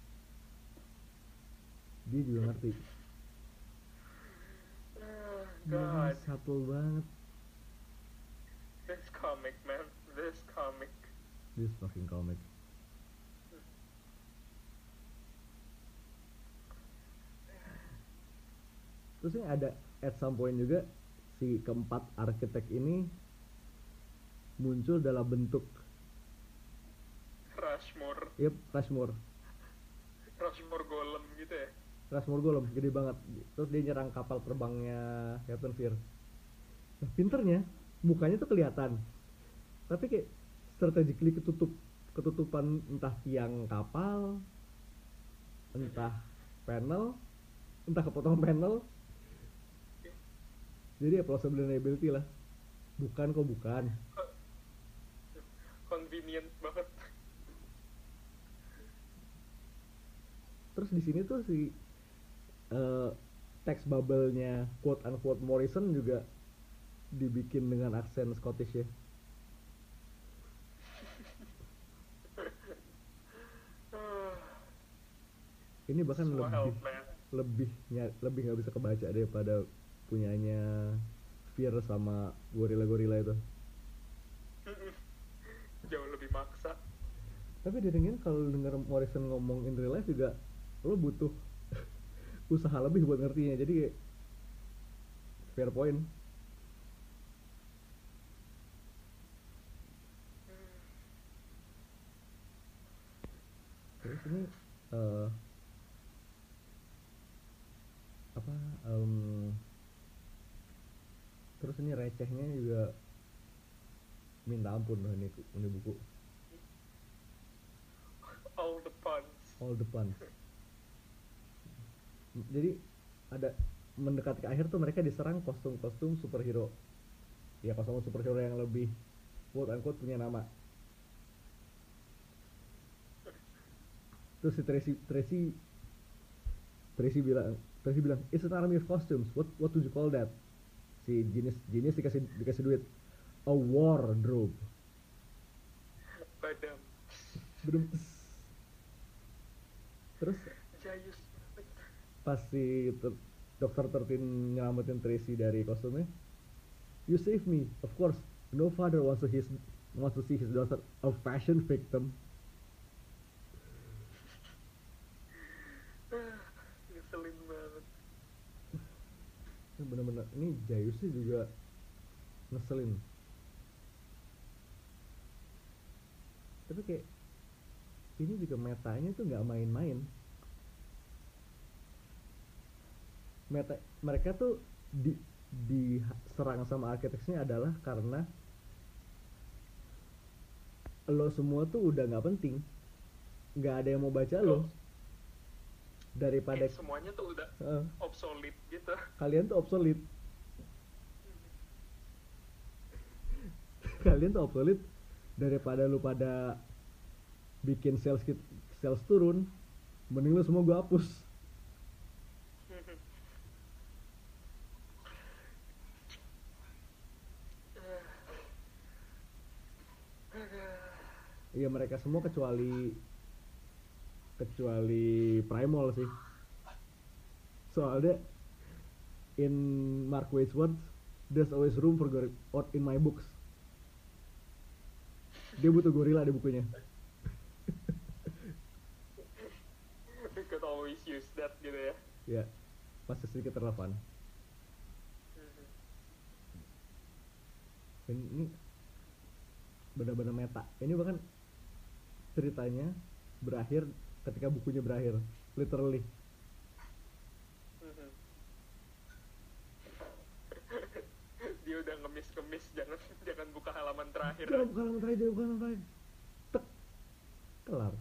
Dia juga ngerti. Oh, Dia God, subtle banget. this comic, man, this comic. This fucking comic. Terus ini ada at some point juga si keempat arsitek ini muncul dalam bentuk, Rushmore, yep, Rushmore. Rushmore golem gitu ya. Rushmore golem, gede banget. Terus dia nyerang kapal terbangnya Captain Fear. Nah, pinternya, mukanya tuh kelihatan, tapi kayak strategically ketutup, ketutupan entah tiang kapal, entah panel, entah kepotong panel. Jadi ya plausibility lah. Bukan kok bukan. Convenient banget. Terus di sini tuh si uh, teks bubble-nya quote unquote Morrison juga dibikin dengan aksen Scottish ya. Ini bahkan Wild, lebih man. lebih ny- lebih nggak bisa kebaca daripada punyanya Fear sama gorila-gorila itu. Jauh lebih maksa. Tapi didengerin kalau denger Morrison ngomong in real life juga lo butuh usaha lebih buat ngertinya, jadi kayak fair point. Terus ini uh, apa um, terus ini recehnya juga minta ampun loh ini, ini buku. All the puns. All the puns. Jadi ada mendekati ke akhir tuh mereka diserang kostum-kostum superhero. Ya kostum superhero yang lebih quote unquote punya nama. Terus si Tracy Tracy Tracy bilang Tracy bilang it's an army of costumes. What what would you call that? Si Genius Genius dikasih dikasih duit. A wardrobe. Badam. Belum. Terus Jayus. pas si ter- dokter Tertin nyelamatin Tracy dari kostumnya, you save me, of course. No father wants to his wants to see his daughter a fashion victim. Ngeselin banget. Ini bener-bener ini Jayusnya juga ngeselin. Tapi kayak ini juga metanya tuh nggak main-main. Meta mereka tuh di diserang sama architects-nya adalah karena lo semua tuh udah nggak penting, nggak ada yang mau baca lo. Daripada eh, semuanya tuh udah uh, obsolete gitu. Kalian tuh obsolete. Kalian tuh obsolete daripada lu pada bikin sales sales turun, mending lu semua gua hapus. Iya mereka semua kecuali kecuali Primal sih. Soalnya in Mark Waid's words, there's always room for gorilla in my books. Dia butuh gorila di bukunya. We could always use that gitu ya. Ya, pasti sedikit relevan. Ini benar-benar meta. Ini bahkan ceritanya berakhir ketika bukunya berakhir, literally. Dia udah ngemis-ngemis, jangan jangan buka halaman terakhir. Jangan buka halaman terakhir, jangan buka halaman terakhir. Tek, kelar.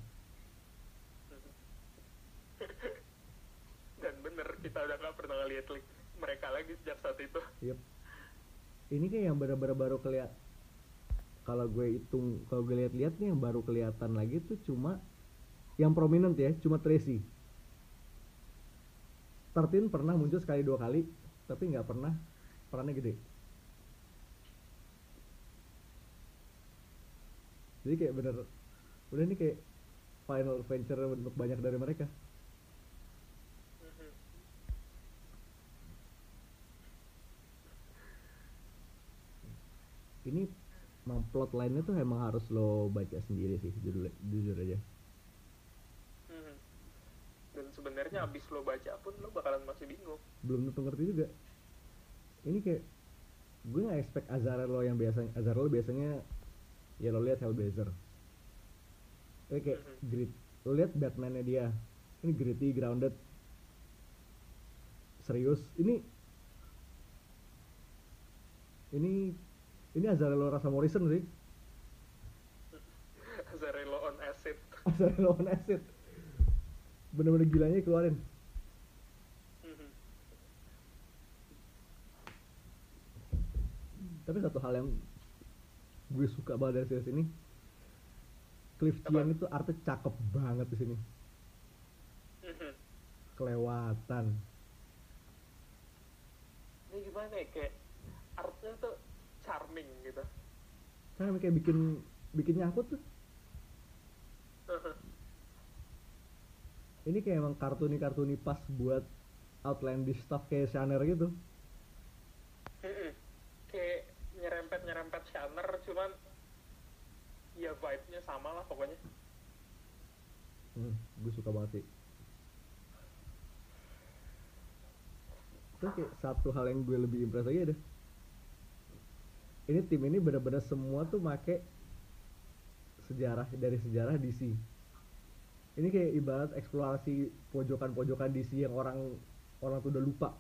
Dan bener, kita udah gak pernah ngeliat mereka lagi sejak saat itu. Yep. Ini kayak yang benar-benar baru kelihatan. Kalau gue hitung, kalau gue lihat-lihat nih yang baru kelihatan lagi tuh cuma yang prominent ya, cuma Tracy. Tertin pernah muncul sekali dua kali, tapi nggak pernah perannya gede. Jadi kayak bener, udah ini kayak final adventure untuk banyak dari mereka. Ini emang plot line-nya tuh emang harus lo baca sendiri sih, jujur, jujur aja. Hmm. Dan sebenarnya abis lo baca pun lo bakalan masih bingung. Belum tentu ngerti juga. Ini kayak gue nggak expect Azarello yang biasanya Azarello biasanya ya lo lihat Hellblazer. Ini kayak mm-hmm. grit. Lo lihat Batman-nya dia. Ini gritty, grounded. Serius. Ini ini Ini Azarello rasa Morrison sih. Azarello on acid. Azarello on acid. Bener-bener gilanya keluarin. Mm-hmm. Tapi satu hal yang gue suka banget dari series ini, Cliff Chiang itu artnya cakep banget di sini. Mm-hmm. Kelewatan. Ini gimana ya, kayak artnya tuh charming gitu. Kan kayak bikin bikin nyangkut tuh. Uh-huh. Ini kayak emang kartuni-kartuni pas buat outlandish stuff kayak Shanner gitu. Mm-mm. Kayak nyerempet-nyerempet Shanner, cuman ya vibe-nya sama lah pokoknya. Hmm, gue suka banget sih. Terus kayak satu hal yang gue lebih impress lagi ada, ini tim ini benar-benar semua tuh make sejarah dari sejarah D C. Ini kayak ibarat eksplorasi pojokan-pojokan D C yang orang orang tuh udah lupa.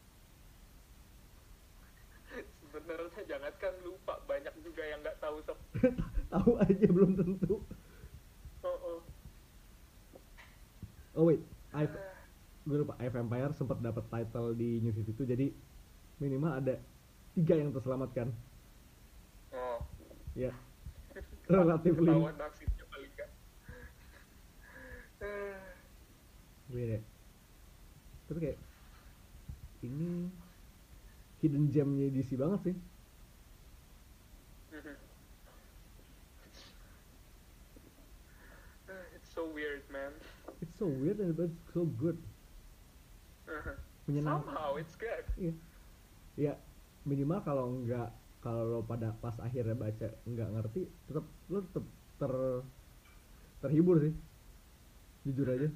Sebenarnya jangankan lupa, banyak juga yang nggak tahu sob. Tahu aja belum tentu. Oh, oh. Oh wait, I gue lupa, Eye of Empire sempat dapat title di New fifty-two, jadi minimal ada tiga yang terselamatkan. Oh. Ya. Relatively. Ketahuan nasibnya paling nggak. Beda. Terus kayak ini hidden gemnya D C banget sih. It's so weird, man. It's so weird and but it's so good. Menyenangkan. Somehow it's good. Iya. Ya minimal kalau nggak, kalau pada pas akhirnya baca nggak ngerti, tetap lo tetap ter terhibur sih, jujur aja.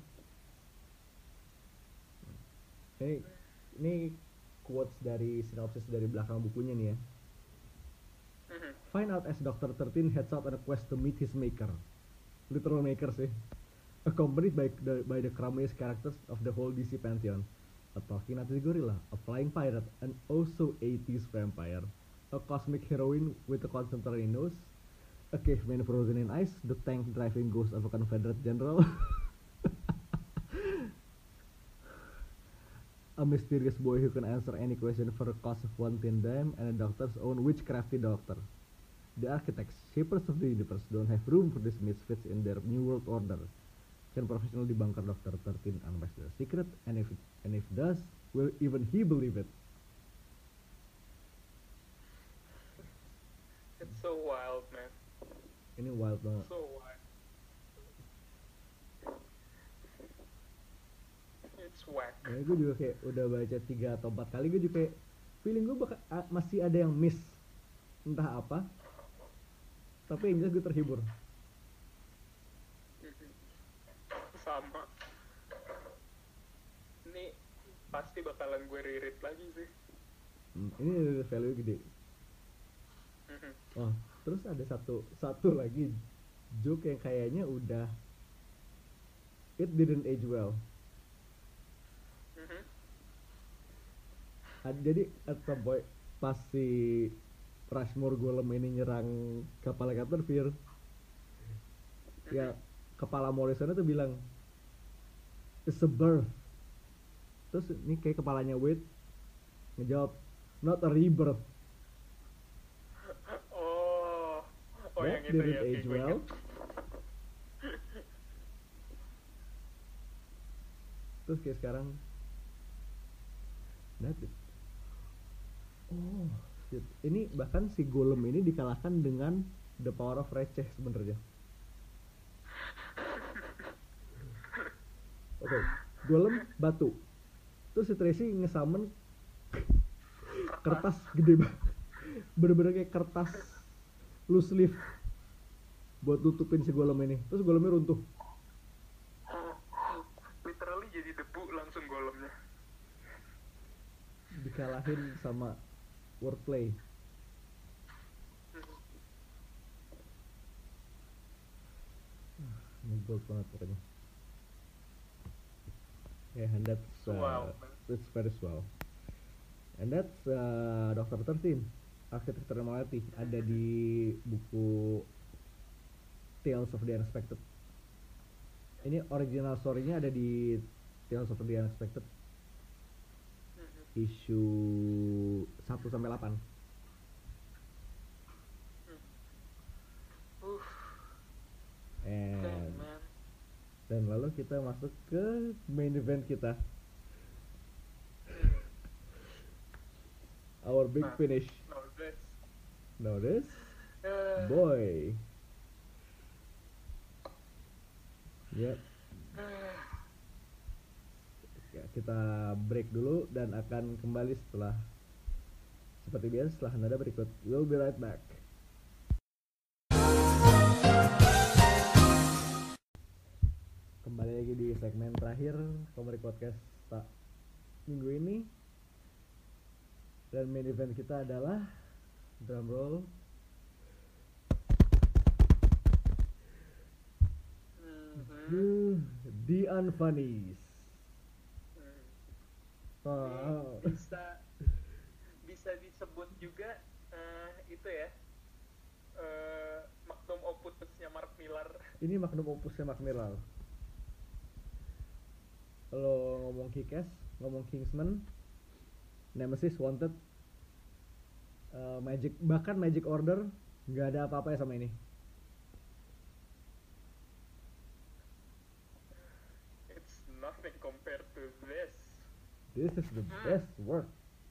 Ini ini quotes dari sinopsis dari belakang bukunya nih ya. Find out as Doctor thirteen heads out on a quest to meet his maker, literal maker sih, accompanied by the by the crummiest characters of the whole D C pantheon. A talking Nazi gorilla, a flying pirate, an also eighties vampire, a cosmic heroine with a concentrated nose, a caveman frozen in ice, the tank driving ghost of a Confederate general, a mysterious boy who can answer any question for the cost of one tin dime, and a doctor's own witchcrafty doctor. The architects, shapers of the universe, don't have room for these misfits in their new world order. Can professional debunker Doctor thirteen unmask their secret, and if it, and if does, will even he believe it? It's so wild, man. Ini wild banget. So wild. It's whack. Nah, gue juga kayak udah baca tiga atau empat kali, gue juga kayak feeling gue bakal a- masih ada yang miss, entah apa. Tapi yang jelas gue terhibur. Sama. Ini pasti bakalan gue reread lagi sih. Hmm, ini ada value gede. Oh, terus ada satu satu lagi joke yang kayaknya udah it didn't age well. Ad, jadi at some point pas si Rushmore Golem ini nyerang kapal Captain Fear, ya kepala Morrison tuh bilang it's a birth. Terus ini kayak kepalanya Wade ngejawab not a rebirth. Oh, oh That yang itu didn't ya. age gue well. ingat. Terus kayak sekarang that's it. Oh shit. Ini bahkan si Golem ini dikalahkan dengan the power of receh sebenarnya. Oke, okay. Golem batu. Terus si Tracy ngesummon kertas gede banget. Bener-bener kayak kertas loose leaf buat tutupin si Golem ini. Terus Golemnya runtuh. Literally jadi debu langsung golemnya. Dikalahin sama wordplay. Ini gold banget pokoknya. Yeah, and that's uh, Wow. it's very swell. And that's uh, Doctor thirteen, Architecture Malati, ada di buku Tales of the Unexpected. Ini original story-nya ada di Tales of the Unexpected issue satu sampai delapan. Uh, And damn, man. dan lalu kita masuk ke main event kita. Our big Nah, finish. no, this. Notice? Uh, Boy. Yep. uh, Ya, kita break dulu dan akan kembali setelah seperti biasa setelah nada berikut. We'll be right back. Kembali lagi di segmen terakhir Komik Podcast tak minggu ini. Dan main event kita adalah drum roll. Mhm. The Unfunnies. Hmm. Oh. Ini bisa bisa disebut juga eh, itu ya eh, magnum opusnya Mark Millar. Ini magnum opusnya Mark Millar. Kalau ngomong Kick-Ass, ngomong Kingsman, Nemesis, Wanted, uh, Magic, bahkan Magic Order, nggak ada apa-apa ya sama ini. It's nothing compared to this. This is the best work.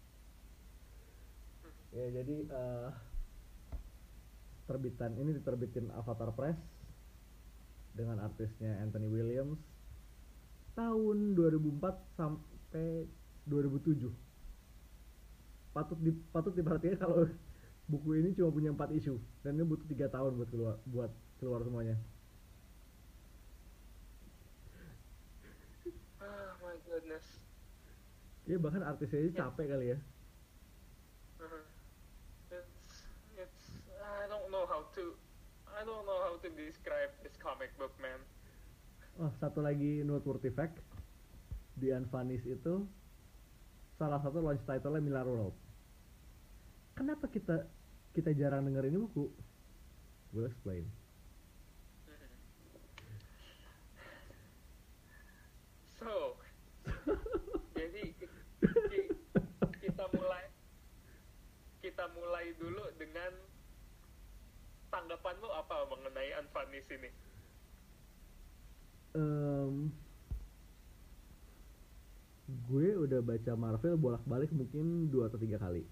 Ya jadi uh, terbitan ini diterbitin Avatar Press dengan artisnya Anthony Williams tahun dua ribu empat sampai dua ribu tujuh. Patut di, patut diperhatikan kalau buku ini cuma punya empat isu dan ini butuh tiga tahun buat keluar buat keluar semuanya. Oh my goodness. Ya bahkan artisnya aja capek kali ya. Uh-huh. It's it's I don't know how to I don't know how to describe this comic book, man. Oh, satu lagi noteworthy fact, The Unfunnies itu salah satu launch title-nya Millar World. Kenapa kita kita jarang denger ini buku? We'll explain. Mhm. So, jadi ki- kita mulai kita mulai dulu dengan tanggapan lu apa mengenai Unfunnies ini? Um, gue udah baca Marvel bolak-balik mungkin dua atau tiga kali.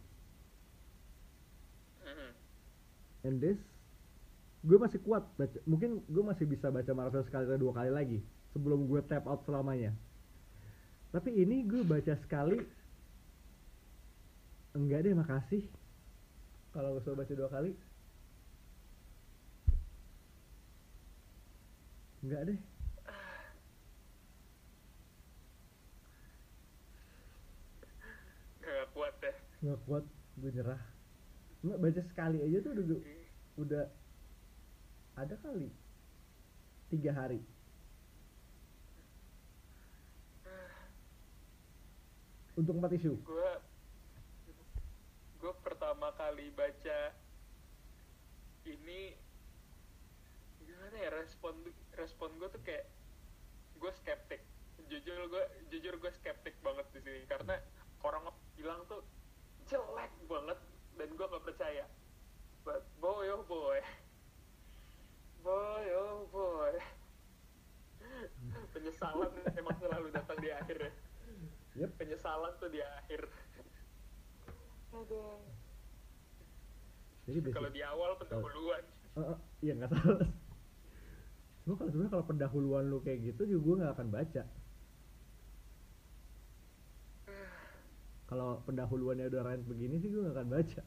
Mhm. And this, gue masih kuat baca, mungkin gue masih bisa baca Marvel sekali atau dua kali lagi sebelum gue tap out selamanya. Tapi ini gue baca sekali, enggak deh makasih. Kalau gue suruh baca dua kali, enggak deh. Gak kuat deh. Nggak kuat, gue nyerah. Nggak, baca sekali aja tuh udah, udah ada kali tiga hari. Untuk empat isu. Gue gue pertama kali baca ini gimana ya, respon respon gue tuh kayak gue skeptik. Jujur gue jujur gue skeptik banget di sini karena orang bilang tuh jelek banget dan gue nggak percaya. But boy oh boy, boy oh boy, penyesalan emang selalu datang di akhir ya. Yep. Penyesalan tuh di akhir. Aduh. Jadi basic. Kalau di awal pendahuluan. Uh, uh, iya nggak salah. Cuma kalau sebenarnya kalau pendahuluan lu kayak gitu juga gue nggak akan baca. Kalau pendahuluannya udah rant begini sih gue gak akan baca.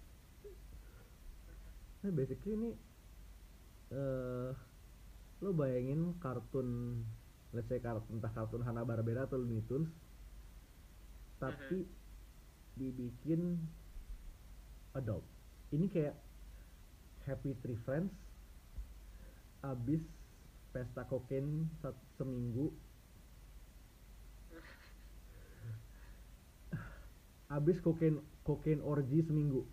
Nah basically ini uh, lo bayangin kartun, let's say kartun, entah kartun Hanna-Barbera atau Looney Tunes, tapi dibikin adult. Ini kayak Happy Tree Friends abis pesta kokain seminggu, abis kokain kokain orgy seminggu.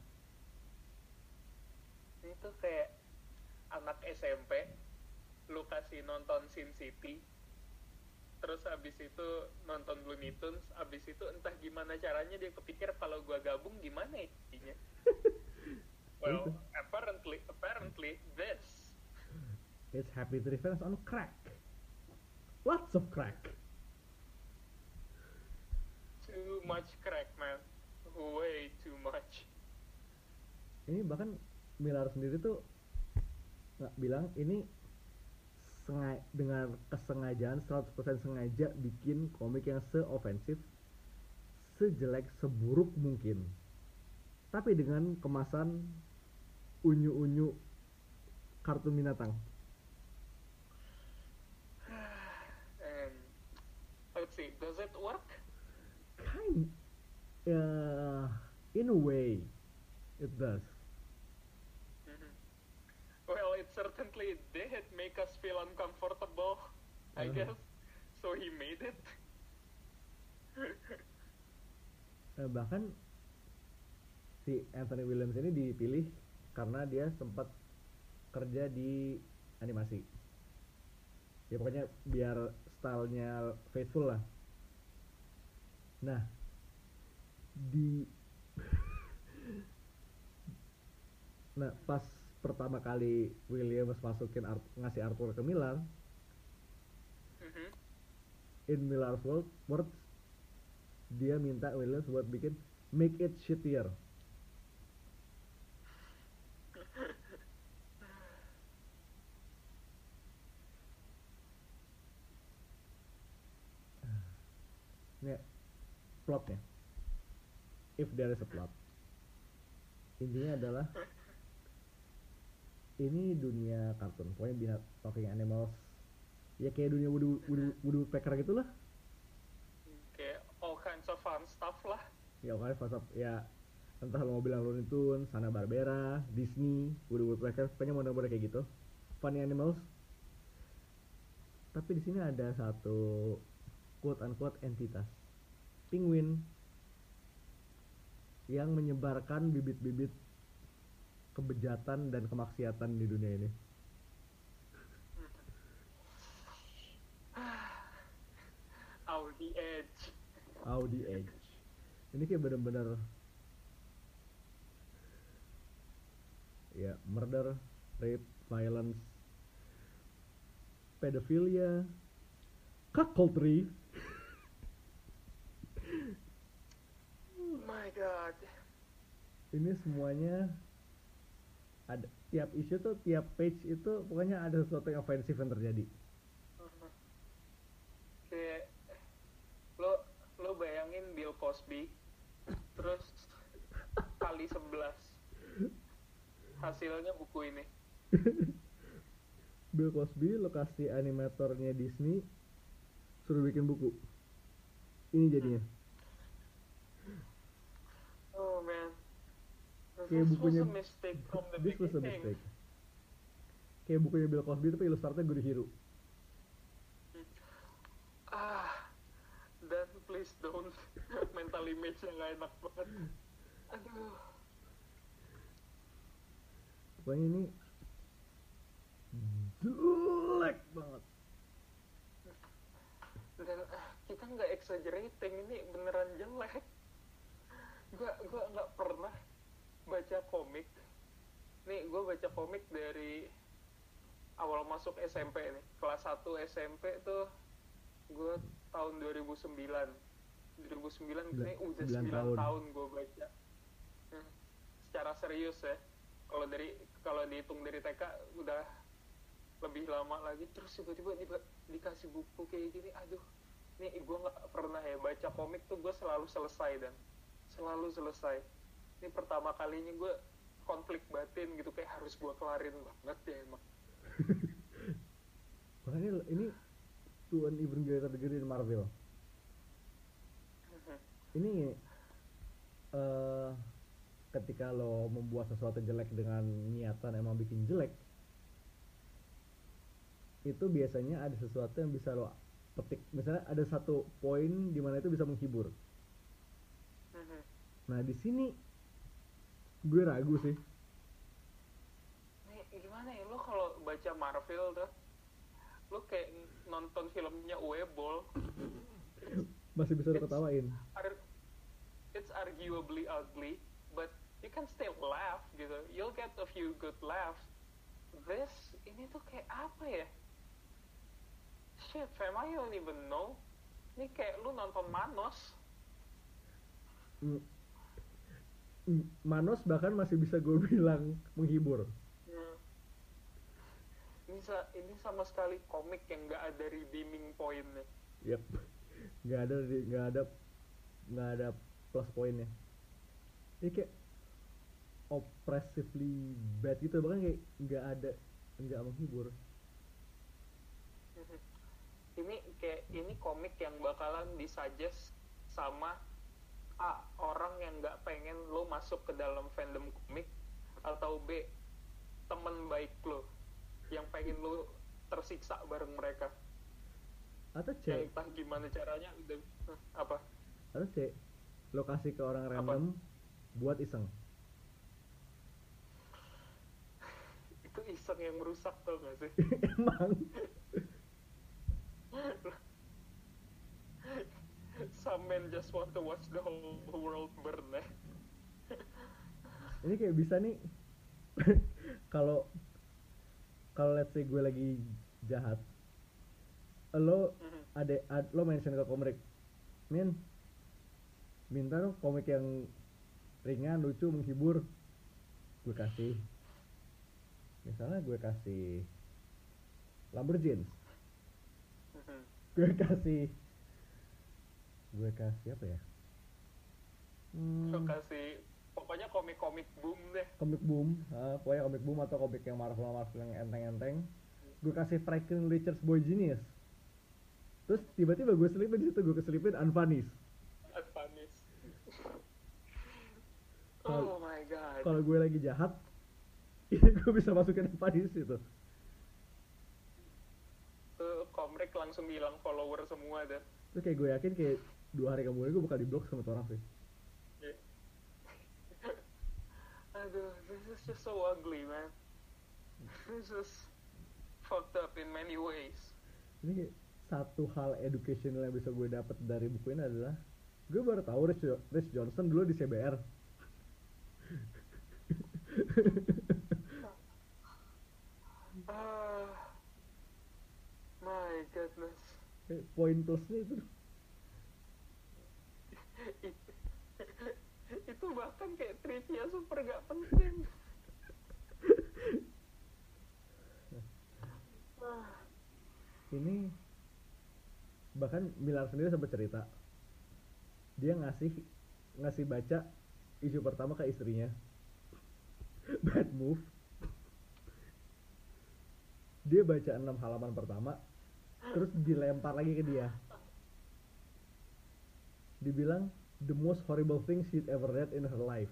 Itu kayak anak S M P lu kasih nonton Sin City, terus abis itu nonton Looney Tunes, abis itu entah gimana caranya dia kepikir kalau gua gabung gimana intinya. Well, apparently apparently this it's Happy Tree Friends on crack. Lots of crack. Too much crack, man. Way too much. Ini bahkan Millar sendiri tuh nggak bilang ini sengaja, dengan kesengajaan seratus persen sengaja bikin komik yang se-ofensif, sejelek, seburuk mungkin, tapi dengan kemasan unyu-unyu kartun binatang. And let's see, does it work? Kind, ya In a way, it does. Mhm. Well, it certainly did make us feel uncomfortable, I Uh, guess. So he made it. eh, bahkan si Anthony Williams ini dipilih karena dia sempat kerja di animasi. Ya pokoknya biar stylenya faithful lah. Nah, di nah pas pertama kali Williams masukin art, ngasih artwork ke Miller, Mhm. in Miller's world, words, dia minta Williams buat bikin make it shittier. Ini plotnya, if there is a plot, intinya adalah ini dunia kartun, pokoknya binat talking animals, ya kayak dunia Woody Woody Woody Woodpecker gitu lah. Kayak all kinds of fun stuff lah. Ya oke, pas ya entah lo mau bilang Looney Tunes, Hanna-Barbera, Disney, Woody Woodpecker, pokoknya model-model kayak gitu, funny animals. Tapi di sini ada satu quote unquote entitas, penguin, yang menyebarkan bibit-bibit kebejatan dan kemaksiatan di dunia ini. Out the edge. Out the edge. Ini kayak bener-bener ya murder, rape, violence, pedophilia, cuckoldry. My God. Ini semuanya ada, tiap isu tuh, tiap page itu pokoknya ada sesuatu yang ofensif yang terjadi. Mhm. Kayak lo lo bayangin Bill Cosby, terus kali sebelas hasilnya buku ini. Bill Cosby, lokasi animatornya Disney, suruh bikin buku. Ini jadinya. Oh man. Kayak This bukunya, was a mistake from the this was a beginning. mistake. Kayak bukunya Bill Cosby tapi ilustratornya Guru Hiro. Ah, dan please don't. Mental image-nya nggak enak banget. Aduh. Pokoknya ini jelek banget. Dan ah, kita nggak exaggerating, ini beneran jelek. Gua gua nggak pernah baca komik. Nih, gua baca komik dari awal masuk S M P nih. Kelas satu S M P tuh gua tahun dua ribu sembilan. dua ribu sembilan ini udah sembilan sembilan tahun. tahun gua baca. Hmm. Secara serius ya. Kalau dari kalau dihitung dari T K udah lebih lama lagi, terus tiba-tiba di, dikasih buku kayak gini. Aduh, nih gue nggak pernah ya baca komik tuh, gue selalu selesai dan selalu selesai. Ini pertama kalinya gue konflik batin gitu, kayak harus gue kelarin banget ya emang. Makanya ini to an even greater degree in Marvel. Ini uh, ketika lo membuat sesuatu jelek dengan niatan emang bikin jelek, itu biasanya ada sesuatu yang bisa lo petik. Misalnya ada satu poin di mana itu bisa menghibur. Nah di sini gue ragu sih. Nih gimana ya, lo kalau baca Marvel tuh, lo kayak nonton filmnya Uwe-Boll. Masih bisa lo ketawain. It's arguably ugly, but you can still laugh gitu. You'll get a few good laughs. This, ini tuh kayak apa ya? Shit, fam, I don't even know. Ini kayak lu nonton Manos. Mm. Mm, Manos bahkan masih bisa gue bilang menghibur. Hmm. Ini, sa- ini sama sekali komik yang nggak ada redeeming point-nya. Yep, nggak ada nggak ada nggak ada plus poinnya. Ini kayak oppressively bad gitu, bahkan kayak nggak ada, nggak menghibur. Ini kayak ini komik yang bakalan disuggest sama A, orang yang nggak pengen lo masuk ke dalam fandom komik, atau B, temen baik lo yang pengen lo tersiksa bareng mereka, Atau yang C, entah gimana caranya udah apa atau C, lo kasih ke orang apa random buat iseng. itu iseng yang merusak, tau gak sih? Emang Some men just want to watch the whole world burn, eh? ini kayak bisa nih kalau kalau let's say gue lagi jahat, lo Mhm. ada ad- lo mention ke komik, min minta dong komik yang ringan, lucu, menghibur. Gue kasih, misalnya gue kasih Lumberjanes, Mhm. gue kasih gue kasih apa ya, Lo hmm, kasih pokoknya komik-komik boom deh. komik boom, ah, pokoknya komik boom atau komik yang Marvel Marvel yang enteng-enteng. Gue kasih Franklin Richards Boy Genius, terus tiba-tiba gue selipin di situ, gue keselipin Unfinished. Advanis. Kalau- Oh my god. Kalau gue lagi jahat, ini gue bisa masukin Unfinished itu. Tuh komik langsung hilang follower semua dah. Terus kayak gue yakin kayak dua hari kemudian gue bakal di blok sama tuh orang sih. Yeah. Aduh, this is just so ugly, man. This is fucked up in many ways. Ini kayak satu hal educational yang bisa gue dapat dari buku ini adalah gue baru tahu Rich, Jo- Rich Johnson dulu di C B R. Ah, my goodness. Kayak poin plusnya itu It- itu bahkan kayak trivia super gak penting. Ah, ini bahkan Miller sendiri sempat cerita dia ngasih ngasih baca isu pertama ke istrinya. Bad move. Dia baca enam halaman pertama terus dilempar lagi ke dia, dibilang the most horrible thing she'd ever read in her life.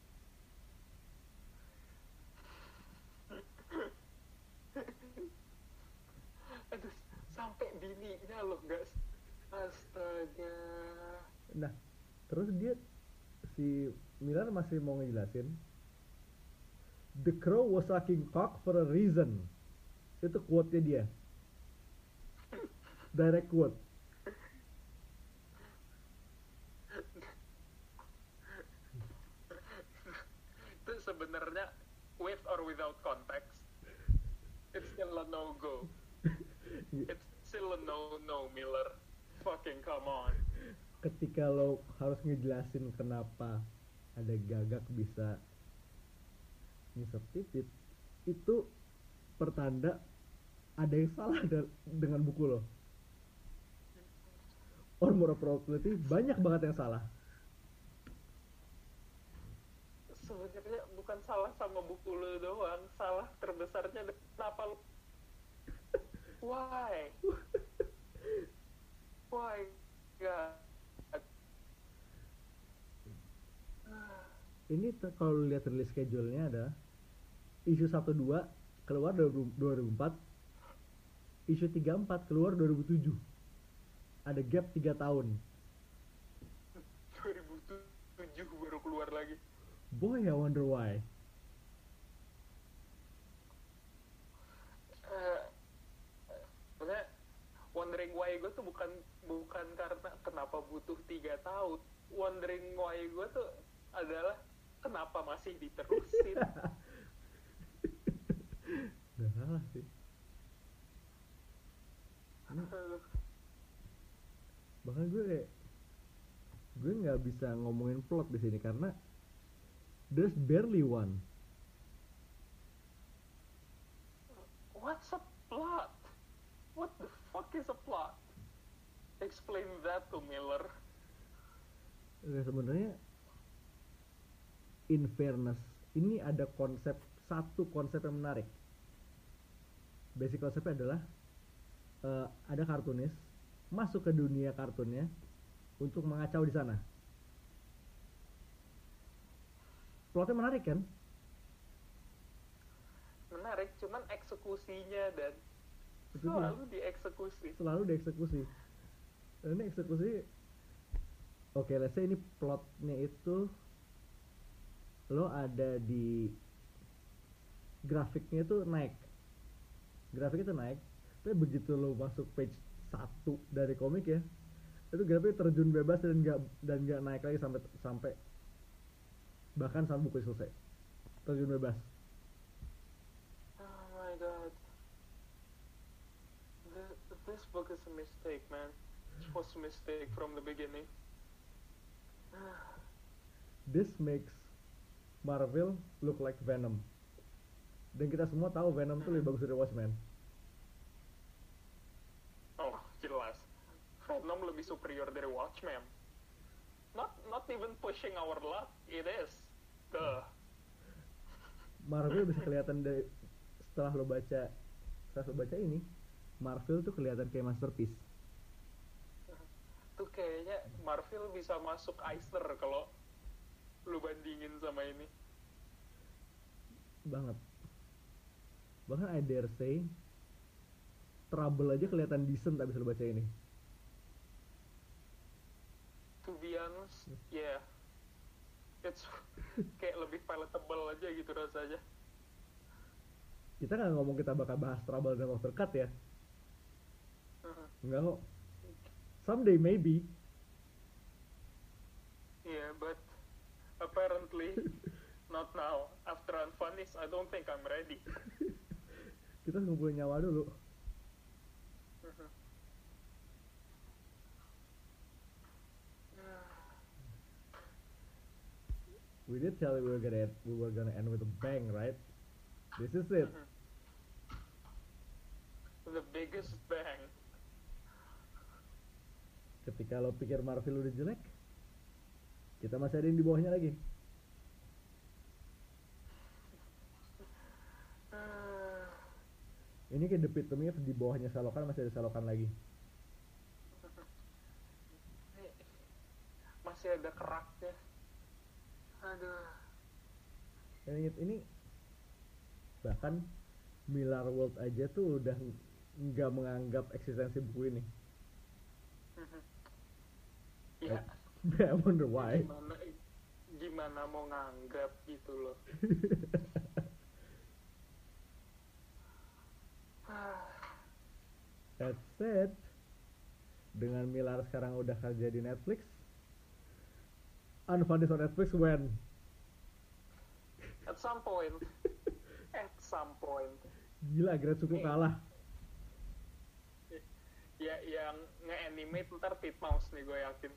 aduh, sampai bininya loh, guys. Astaga. Nah terus dia si Miller masih mau ngejelasin the crow was sucking cock for a reason. Itu quote-nya dia, direct quote. Itu sebenarnya with or without context, it's still a no go. It's still a no no, Miller. Fucking come on. Ketika lo harus ngejelasin kenapa ada gagak bisa ngisep titit, itu pertanda ada yang salah da- dengan buku lo. Or more appropriately, banyak banget yang salah. Sebenarnya bukan salah sama buku lo doang, salah terbesarnya adalah kenapa lo. Why? Why? God. Ini te- kalau lu lihat release schedule-nya ada isu satu dua keluar dua ribu empat, isu tiga empat keluar dua ribu tujuh. Ada gap tiga tahun. dua ribu tujuh baru keluar lagi. Boy, I wonder why. Eh, Maksudnya wondering why gue tuh bukan bukan karena kenapa butuh tiga tahun. Wondering why gue tuh adalah kenapa masih diterusin. Gak salah sih. Ini Aduh. bahkan gue kayak gue nggak bisa ngomongin plot di sini karena there's barely one. What's a plot? What the fuck is a plot? Explain that to Miller. Nah, sebenarnya in fairness ini ada konsep, satu konsep yang menarik. Basic konsepnya adalah eh, ada kartunis masuk ke dunia kartunnya untuk mengacau di sana. plotnya menarik kan? Menarik, cuman eksekusinya dan Itu dia. selalu dieksekusi. Selalu dieksekusi. Dan ini eksekusi, oke, let's say ini plotnya itu lo ada di grafiknya itu naik, grafiknya itu naik, tapi begitu lo masuk page satu dari komik ya, itu grafiknya terjun bebas dan nggak dan nggak naik lagi sampai sampai bahkan sampai buku selesai, terjun bebas. Oh my god. This, this book is a mistake, man. It was a mistake from the beginning. This makes Marvel look like Venom. Dan kita semua tahu Venom tuh lebih bagus dari Watchmen. Oh, jelas. Venom lebih superior dari Watchmen. Not not even pushing our luck, it is. Duh. Marvel bisa kelihatan dari setelah lo baca setelah lo baca ini, Marvel tuh kelihatan kayak masterpiece. Tuh kayaknya Marvel bisa masuk Eisner kalau lu bandingin sama ini. Banget. Bahkan I dare say Trouble aja kelihatan decent abis lo baca ini. To be honest, yeah. It's kayak lebih palatable aja gitu rasanya. Kita nggak ngomong kita bakal bahas Trouble dan Walter Cut ya. Uh-huh. Enggak kok. Someday maybe. Yeah, but apparently not now. After Unfinished, I don't think I'm ready. Kita ngumpulin nyawa dulu. Uh-huh. We did tell you we were gonna we were gonna end with a bang, right? This is it. Uh-huh. The biggest bang. Ketika lo pikir Marvel udah jelek, kita masih ada yang di bawahnya lagi. Uh, Ini kayak The Epitome di bawahnya Salokan masih ada Salokan lagi. masih ada keraknya. Aduh. Dan inget ini bahkan Miller World aja tuh udah nggak menganggap eksistensi buku ini. Ya. I wonder why. Gimana, gimana mau nganggap gitu loh. That said, dengan Miller sekarang udah kerja di Netflix, Unfinished on Netflix when? At some point. At some point. Gila, Gretsuko kalah. Ya, yang nge-animate ntar Titmouse nih gue yakin.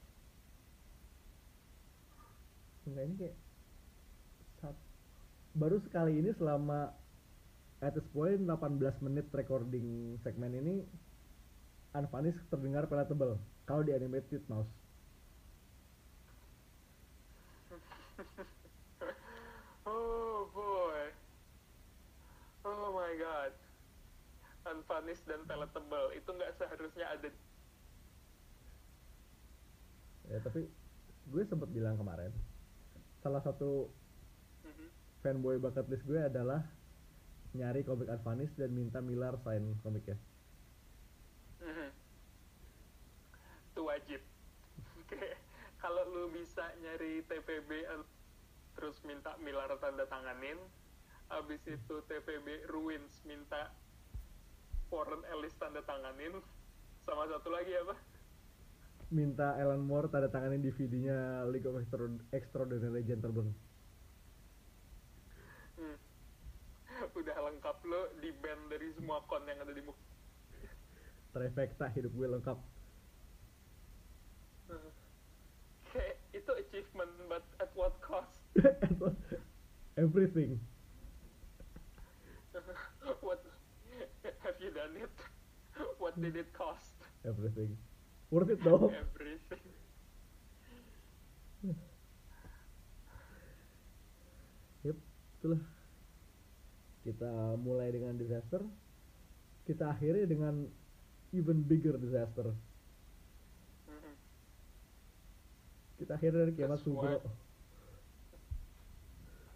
Enggak, ini kayak saat, baru sekali ini selama at this point delapan belas menit recording segmen ini Unfinished terdengar palatable kalau di animate Titmouse. Oh boy. Oh my god. Unfinished dan palatable itu nggak seharusnya ada. Ya tapi gue sempet bilang kemarin, salah satu Mm-hmm. fanboy bucket list gue adalah nyari komik Unfinished dan minta Miller sign komiknya. Mm-hmm. Itu wajib. Kayak kalau lu bisa nyari T P B terus minta Miller tanda tanganin, abis itu T P B Ruins minta Warren Ellis tanda tanganin, sama satu lagi apa? Minta Alan Moore tanda tanganin D V D-nya League of Extra- Extraordinary Gentlemen. Hmm. Udah lengkap lo di band dari semua kon yang ada di muka. Trifecta, hidup gue lengkap. Hmm. Kayak itu achievement, but at what cost? Everything. What have you done it? What did it cost? Everything. Worth it though. Everything. Yep, itulah. Kita mulai dengan disaster, kita akhiri dengan even bigger disaster. Mhm. Kita akhiri dari kiamat Sesuai. Sugro.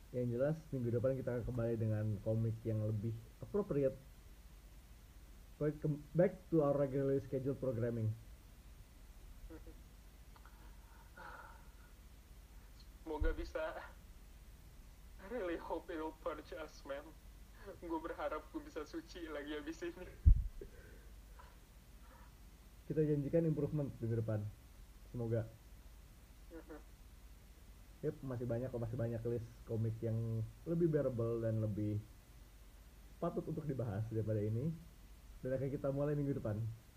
Yang jelas minggu depan kita akan kembali dengan komik yang lebih appropriate. Back to our regularly scheduled programming. Semoga bisa. I really hope it'll purge us, man. Gue berharap gue bisa suci lagi abis ini. Kita janjikan improvement minggu depan. Semoga. Yep, masih banyak kok, masih banyak list komik yang lebih bearable dan lebih patut untuk dibahas daripada ini. Dan akan kita mulai minggu depan.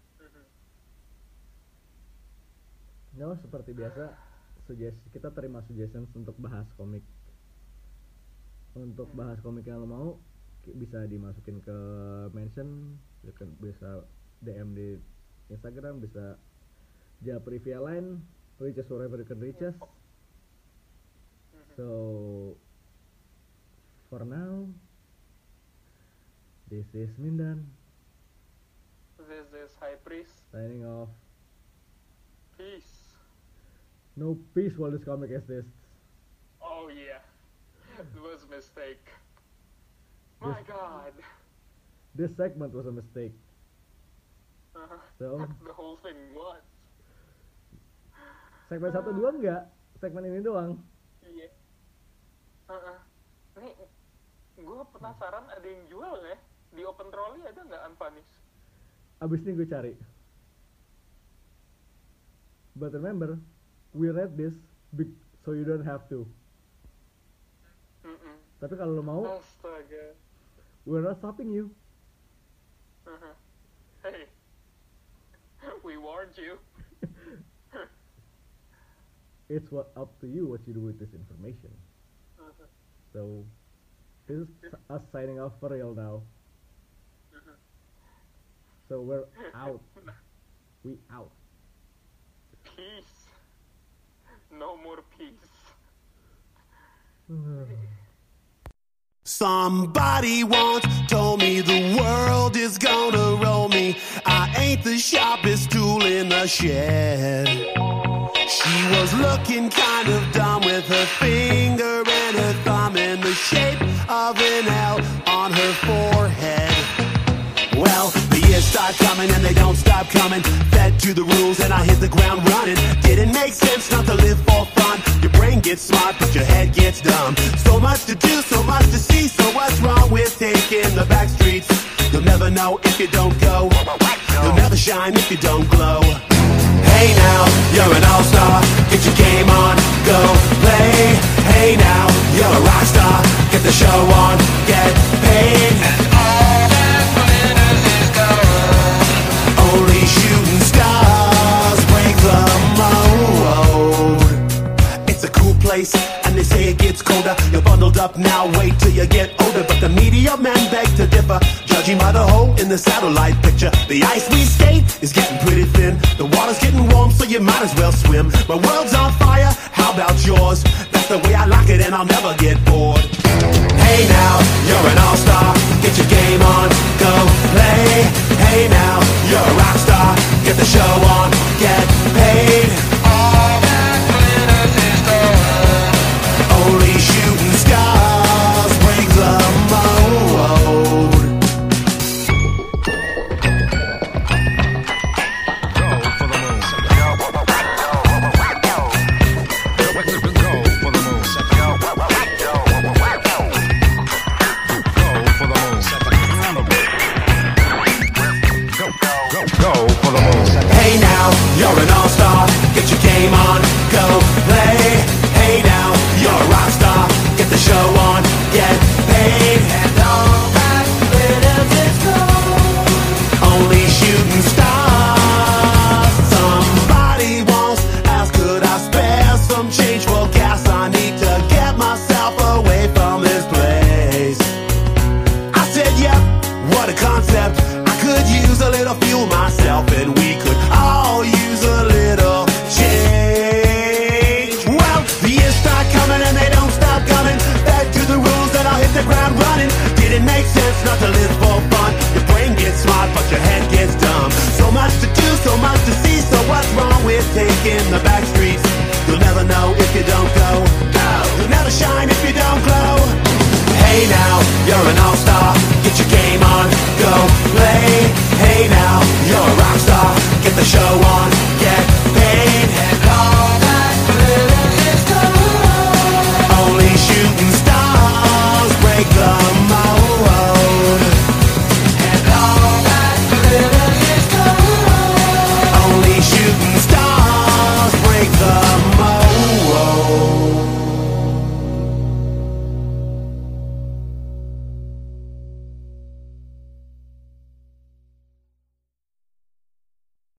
No, seperti biasa, suggest kita terima suggestions untuk bahas komik. Untuk bahas komik yang lo mau, bisa dimasukin ke mention, bisa D M di Instagram, bisa japri via line, reach us wherever you can reach us. So, for now, this is Mindan. This is High Priest. Signing off. Peace. No peace while this comic exists. Oh yeah, it was a mistake. My This- God. This segment was a mistake. Uh, So, the whole thing was. segmen satu dua enggak, segmen ini doang. Iya. Uh-uh. Nih, gue penasaran ada yang jual nggak? Di Open Trolley ada nggak Unpunished? Abis ini gue cari. But remember, we read this big, so you don't have to. Mm-mm. Tapi kalau lo mau, Astaga. we're not stopping you. Uh-huh. Hey, we warned you. It's what up to you what you do with this information. Uh-huh. So, this is us signing off for real now. Uh-huh. So we're out. We out. Peace. No more peace. Somebody once told me the world is gonna roll me. I ain't the sharpest tool in the shed. She was looking kind of dumb with her finger and her thumb in the shape of an L on her forehead. Well, the years start coming and they don't stop coming. Fed to the rules and I hit the ground running. Didn't make sense not to live for fun. Your brain gets smart but your head gets dumb. So much to do, so much to see. So what's wrong with taking the back streets? You'll never know if you don't go. You'll never shine if you don't glow. Hey now, you're an all-star. Get your game on, go play. Hey now, you're a rock star. Get the show on, get paid. And all that glitters is gold. Only shooting stars break the mold. It's a cool place, and they say it gets colder. You're bundled up now, wait till you get older. But the media men beg to differ, judging by the hole in the satellite picture. The ice we skate is getting pretty thin. The water's getting warm, so you might as well swim. My world's on fire, how about yours? That's the way I like it, and I'll never get bored. Hey now, you're an all-star. Get your game on, go play. Hey now, you're a rock star. Get the show on, get paid. All that glitters is gold. Only shooting stars break the mold. Hey now, you're an all-star. Get your game on, go play. Hey now, you're a rock star. Get the show on, get paid. And all that glitters is gold. Only shooting stars. Somebody once asked, could I spare some change for gas? I need to get myself away from this place. I said, yep, what a concept. I could use a little fuel myself, and we could all use a little change. Well, the years start coming and they don't stop coming. Back to Hey now, you're an all-star. Get your game on, go play. Hey now, you're a rock star. Get the show on.